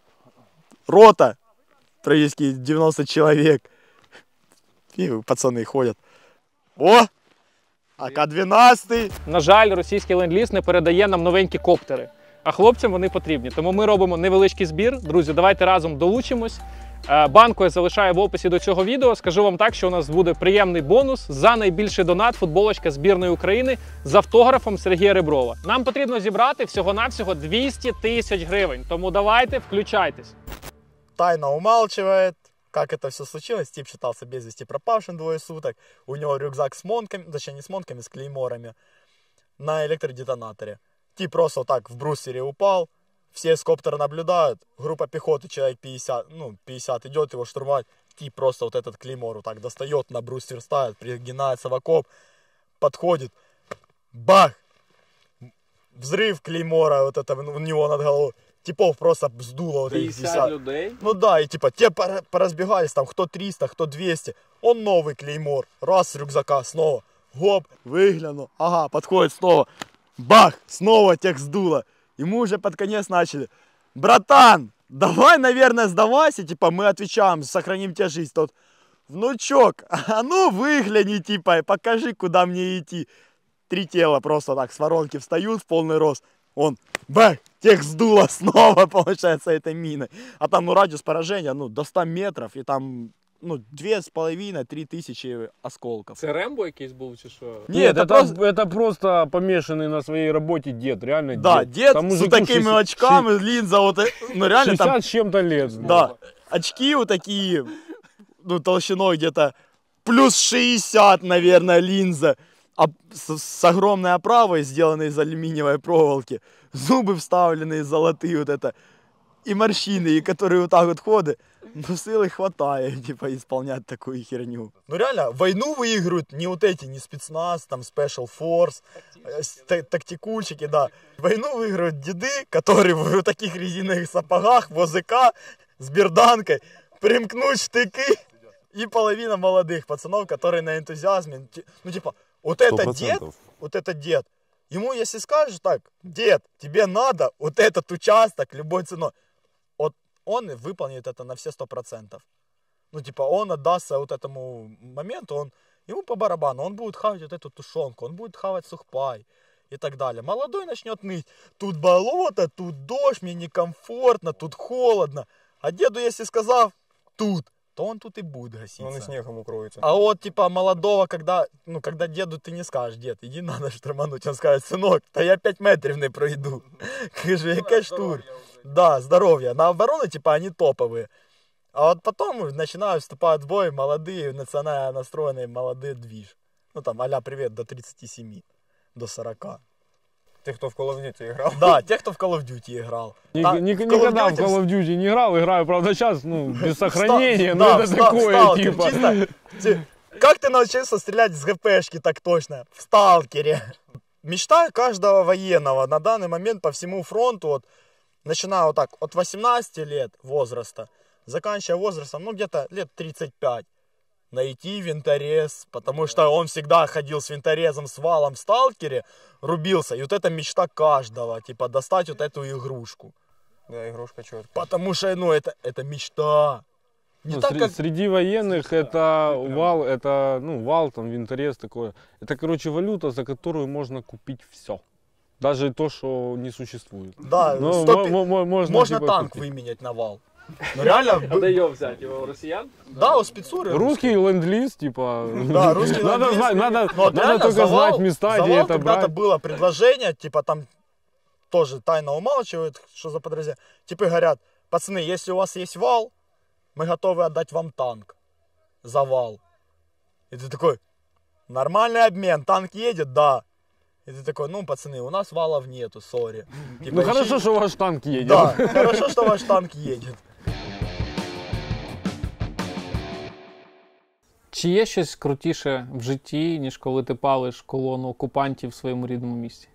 рота, практически 90 человек. И пацаны ходять. О! АК-12. На жаль, російський ленд-ліз не передає нам новенькі коптери. А хлопцям вони потрібні. Тому ми робимо невеличкий збір. Друзі, давайте разом долучимось. Банку я залишаю в описі до цього відео. Скажу вам так, що у нас буде приємний бонус за найбільший донат футболочка збірної України з автографом Сергія Реброва. Нам потрібно зібрати всього-навсього 200 тисяч гривень. Тому давайте, включайтесь. Тайна умалчивает, как это все случилось. Тип считался без вести пропавшим 2 суток. У него рюкзак с монками, точнее не с монками, с клейморами на электродетонаторе. Тип просто вот так в брустере упал. Все с коптера наблюдают. Группа пехоты, человек 50, ну 50 идет его штурмовать. Тип просто вот этот клеймор вот так достает, на брустер ставит, пригинается в окоп, подходит. Бах! Взрыв клеймора вот это у него над головой. Типов просто сдуло вот этих 50 людей. Ну да, и типа те поразбегались там, кто 300, кто 200. Он новый клеймор. Раз с рюкзака снова. Гоп, выглянул. Ага, подходит снова. Бах, снова тех сдуло. Ему уже под конец начали. Братан, давай, наверное, сдавайся. Типа мы отвечаем, сохраним тебе жизнь. Тот, внучок, а ну выгляни, типа, покажи, куда мне идти. 3 тела просто так с воронки встают в полный рост. Он, бах, тех сдуло снова, получается, этой миной. А там, ну, радиус поражения, ну, до 100 метров, и там, ну, 2,5-3 тысячи осколков. Це Рембо якийсь був, чи що? Нет, это просто помешанный на своей работе дед, реально да, дед. Там с такими очками, линза, вот, ну, реально 60 там... с чем-то лет. Да, очки вот такие, ну, толщиной где-то плюс 60, наверное, линза. А с огромной оправой, сделанной из алюминиевой проволоки, зубы вставленные золотые, вот это, и морщины, и которые вот так вот ходят, ну силы хватает, типа, исполнять такую херню. Ну реально, войну выигрывают не вот эти, не спецназ, там, Special Force, тактикульщики, да. Войну выигрывают деды, которые в таких резиновых сапогах, в ОЗК, с берданкой, примкнуть штыки, и половина молодых пацанов, которые на энтузиазме, ну типа, вот это дед, вот это дед. Ему, если скажешь так, дед, тебе надо вот этот участок любой ценой, вот он выполнит это на все 100%. Ну, типа, он отдастся вот этому моменту, ему по барабану, он будет хавать вот эту тушенку, он будет хавать сухпай и так далее. Молодой начнет ныть, тут болото, тут дождь, мне некомфортно, тут холодно. А деду, если сказав, тут, то он тут и будет гаситься. Он и снегом укроется. А вот, типа, молодого, когда деду ты не скажешь, дед, иди надо штурмануть, он скажет, сынок, да я 5 метров не пройду. Каже, яке штурм. Да, здоровья. На оборону, типа, они топовые. А вот потом начинают вступать в бой молодые, национально настроенные молодые движ. Ну, там, а-ля привет, до 37, до 40. Те, кто в Call of Duty играл? Да, те, кто в Call of Duty играл. Никогда в Call of Duty не играю, правда, сейчас, ну, без сохранения, но это такое, типа. Как ты научился стрелять с ГПшки так точно? В сталкере. Мечта каждого военного на данный момент по всему фронту, вот, начиная вот так, от 18 лет возраста, заканчивая возрастом, ну, где-то лет 35, найти винторез, потому что он всегда ходил с винторезом, с валом в сталкере, рубился, и вот это мечта каждого, типа, достать вот эту игрушку. Да, игрушка четкая. Потому что, ну, это мечта. Не так, как... Среди военных это вал, вал, там, винторез такое. Это, короче, валюта, за которую можно купить все. Даже то, что не существует. Да, можно типа, танк купить. Выменять на вал. Ну реально... Надо ее взять, его у россиян? Да, у спецуры. Русский ленд-лиз, типа... Да, русский ленд-лиз. Надо только знать места, где это брать. Когда-то было предложение, типа там тоже тайно умалчивают, что за подразделение. Типы говорят, пацаны, если у вас есть вал, мы готовы отдать вам танк за вал. И ты такой, нормальный обмен, танк едет, да. И ты такой, ну, пацаны, у нас валов нету, сори. Типа, ну, хорошо, что ваш танк едет. Да, хорошо, что ваш танк едет. Чи є щось крутіше в житті, ніж коли ти палиш колону окупантів в своєму рідному місті?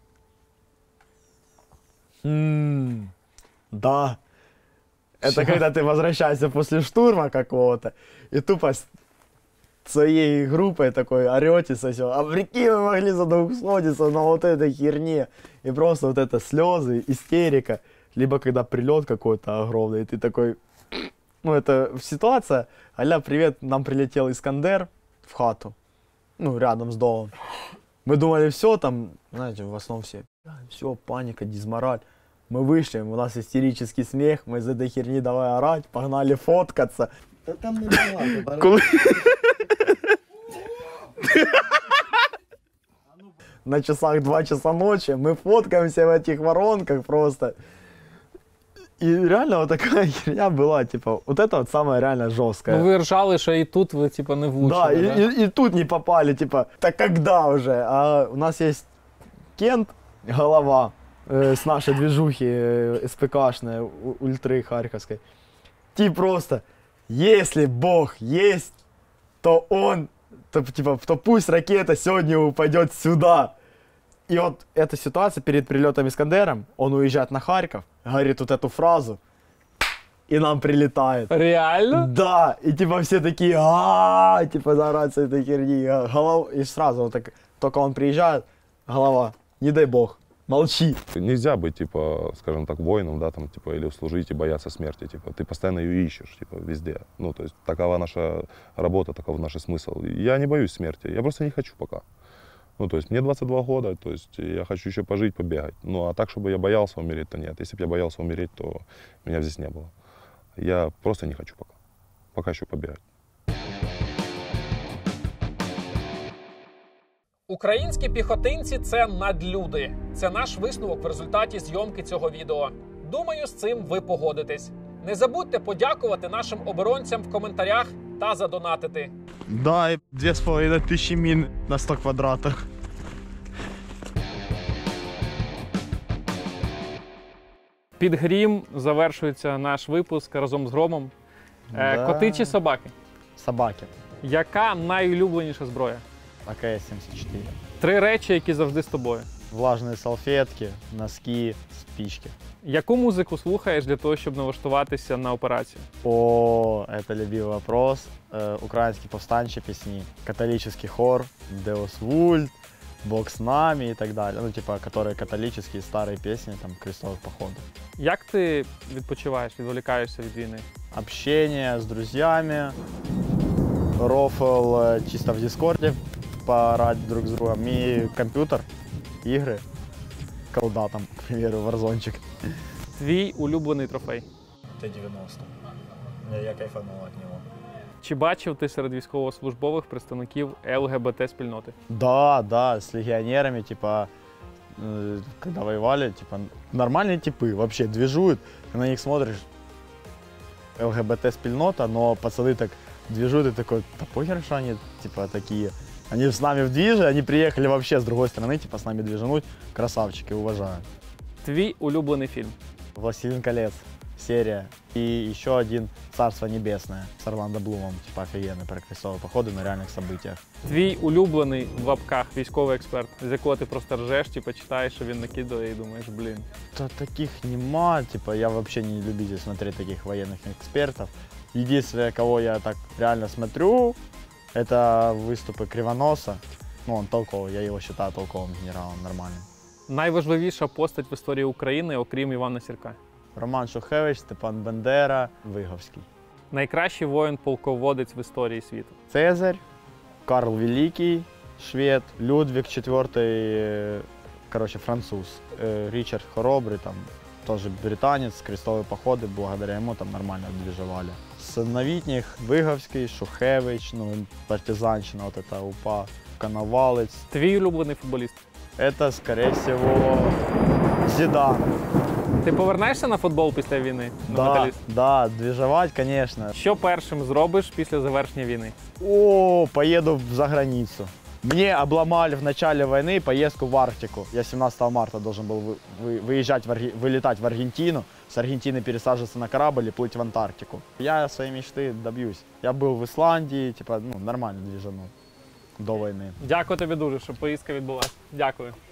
Да. Это когда ты возвращаешься после штурма какого-то, и тупо с своей группой такой орете со всего. А прикинь, мы могли задоусходиться на вот этой херне. И просто вот это слезы, истерика. Либо когда прилет какой-то огромный, и ты такой... Ну, это ситуация, а-ля, привет, нам прилетел Искандер в хату, ну, рядом с домом. Мы думали, все там, знаете, в основном все, паника, дизмораль. Мы вышли, у нас истерический смех, мы из этой херни давай орать, погнали фоткаться. Да там не бывает. На часах 2 часа ночи мы фоткаемся в этих воронках просто. И реально вот такая херня была, типа, вот это вот самое реально жесткое. Ну вы ржали, что и тут вы, типа, не влучили, да? И тут не попали, типа, так когда уже? А у нас есть Кент, голова с нашей движухи СПКшной, ультры харьковской. Типа просто, если Бог есть, то он, то пусть ракета сегодня упадет сюда. И вот эта ситуация перед прилетом Искандером, он уезжает на Харьков, говорит вот эту фразу, и нам прилетает. Реально? Да, и типа все такие, типа заорать с этой херни. И сразу вот так, только он приезжает, голова, не дай бог, молчи. Нельзя быть, типа, скажем так, воином, да, там, типа, или служить и бояться смерти, типа, ты постоянно ее ищешь, типа, везде. Ну, то есть, такова наша работа, таков наш смысл. Я не боюсь смерти, я просто не хочу пока. Ну, то есть, мне 22 года, то есть, я хочу еще пожить, побегать. Ну, а так, чтобы я боялся умереть, то нет. Если бы я боялся умереть, то меня здесь не было. Я просто не хочу пока. Пока еще побегать. Українські піхотинці – це надлюди. Це наш висновок в результаті зйомки цього відео. Думаю, з цим ви погодитесь. Не забудьте подякувати нашим оборонцям в коментарях та задонатити. Да, и 2500 мин на 100 квадратах. Під грім завершується наш випуск разом з Громом. Да. Коти чи собаки? Собаки. Яка найулюбленіша зброя? АКС-74. 3 речі, які завжди з тобою. Влажные салфетки, носки, спички. Яку музику слухаєш для того, щоб налаштуватися на операцію? О, это любимый вопрос. Украинские повстанчие песни, католический хор, Deus Vult, Бог с нами и так далее. Ну, типа, которые католические старые песни, там, крестовых походов. Як ти відпочиваєш, відволікаєшся від війни? Общение с друзьями, рофл чисто в Дискорде, поорать друг с другом, и компьютер, игры, колда там, к примеру, варзончик. Твій улюблений трофей? Т-90. Я кайфанул от него. Чи бачив ти серед військовослужбових представників ЛГБТ-спільноти? Да, с легионерами, типа, когда воевали, типа, нормальные типы, вообще движуют, ты на них смотришь, ЛГБТ-спільнота, но пацаны так движуют, и такой, да похер, что они, типа, такие. Они с нами в движе, они приехали вообще с другой стороны, типа, с нами движануть, красавчики, уважаю. Твій улюблений фільм? «Властелин колец» серия. И еще один «Царство небесное» с Орландо Блумом, типа, офигенный, про крестовые походы на реальных событиях. Твій улюблений, в лапках, військовий експерт, з якого ти просто ржеш, типа, читаєш, що він накидує і думаєш, блін. Да таких нема, типа, я вообще не любитель смотреть таких военных экспертов. Единственное, кого я так реально смотрю, это выступы Кривоноса. Ну, он толковый, я его считаю толковым генералом, нормальным. Найважливіша постать в історії України, окрім Івана Сірка? Роман Шухевич, Степан Бендера, Виговський. Найкращий воїн-полководець в історії світу? Цезарь, Карл Великий, швед, Людвиг IV, короче, француз, Ричард Хоробрый, там, тоже британец, крестовые походы, благодаря ему там нормально движевали. С новітніх Виговський, Шухевич, ну, партизанщина, вот это УПА, Коновалець. Твій улюблений футболіст? Это, скорее всего, Зідан. Ти повернешся на футбол після війни? На Да, Металіст? да, двіжувати, звісно. Що першим зробиш після завершення війни? О, поеду за границу. Мне обломали в начале войны поездку в Арктику. Я 17 марта должен был вылетать в Аргентину, с Аргентины пересаживаться на корабль и плыть в Антарктику. Я своей мечты добьюсь. Я был в Исландии, типа, нормально движанул до войны. Дякую тобі дуже, що поїздка відбулася. Дякую.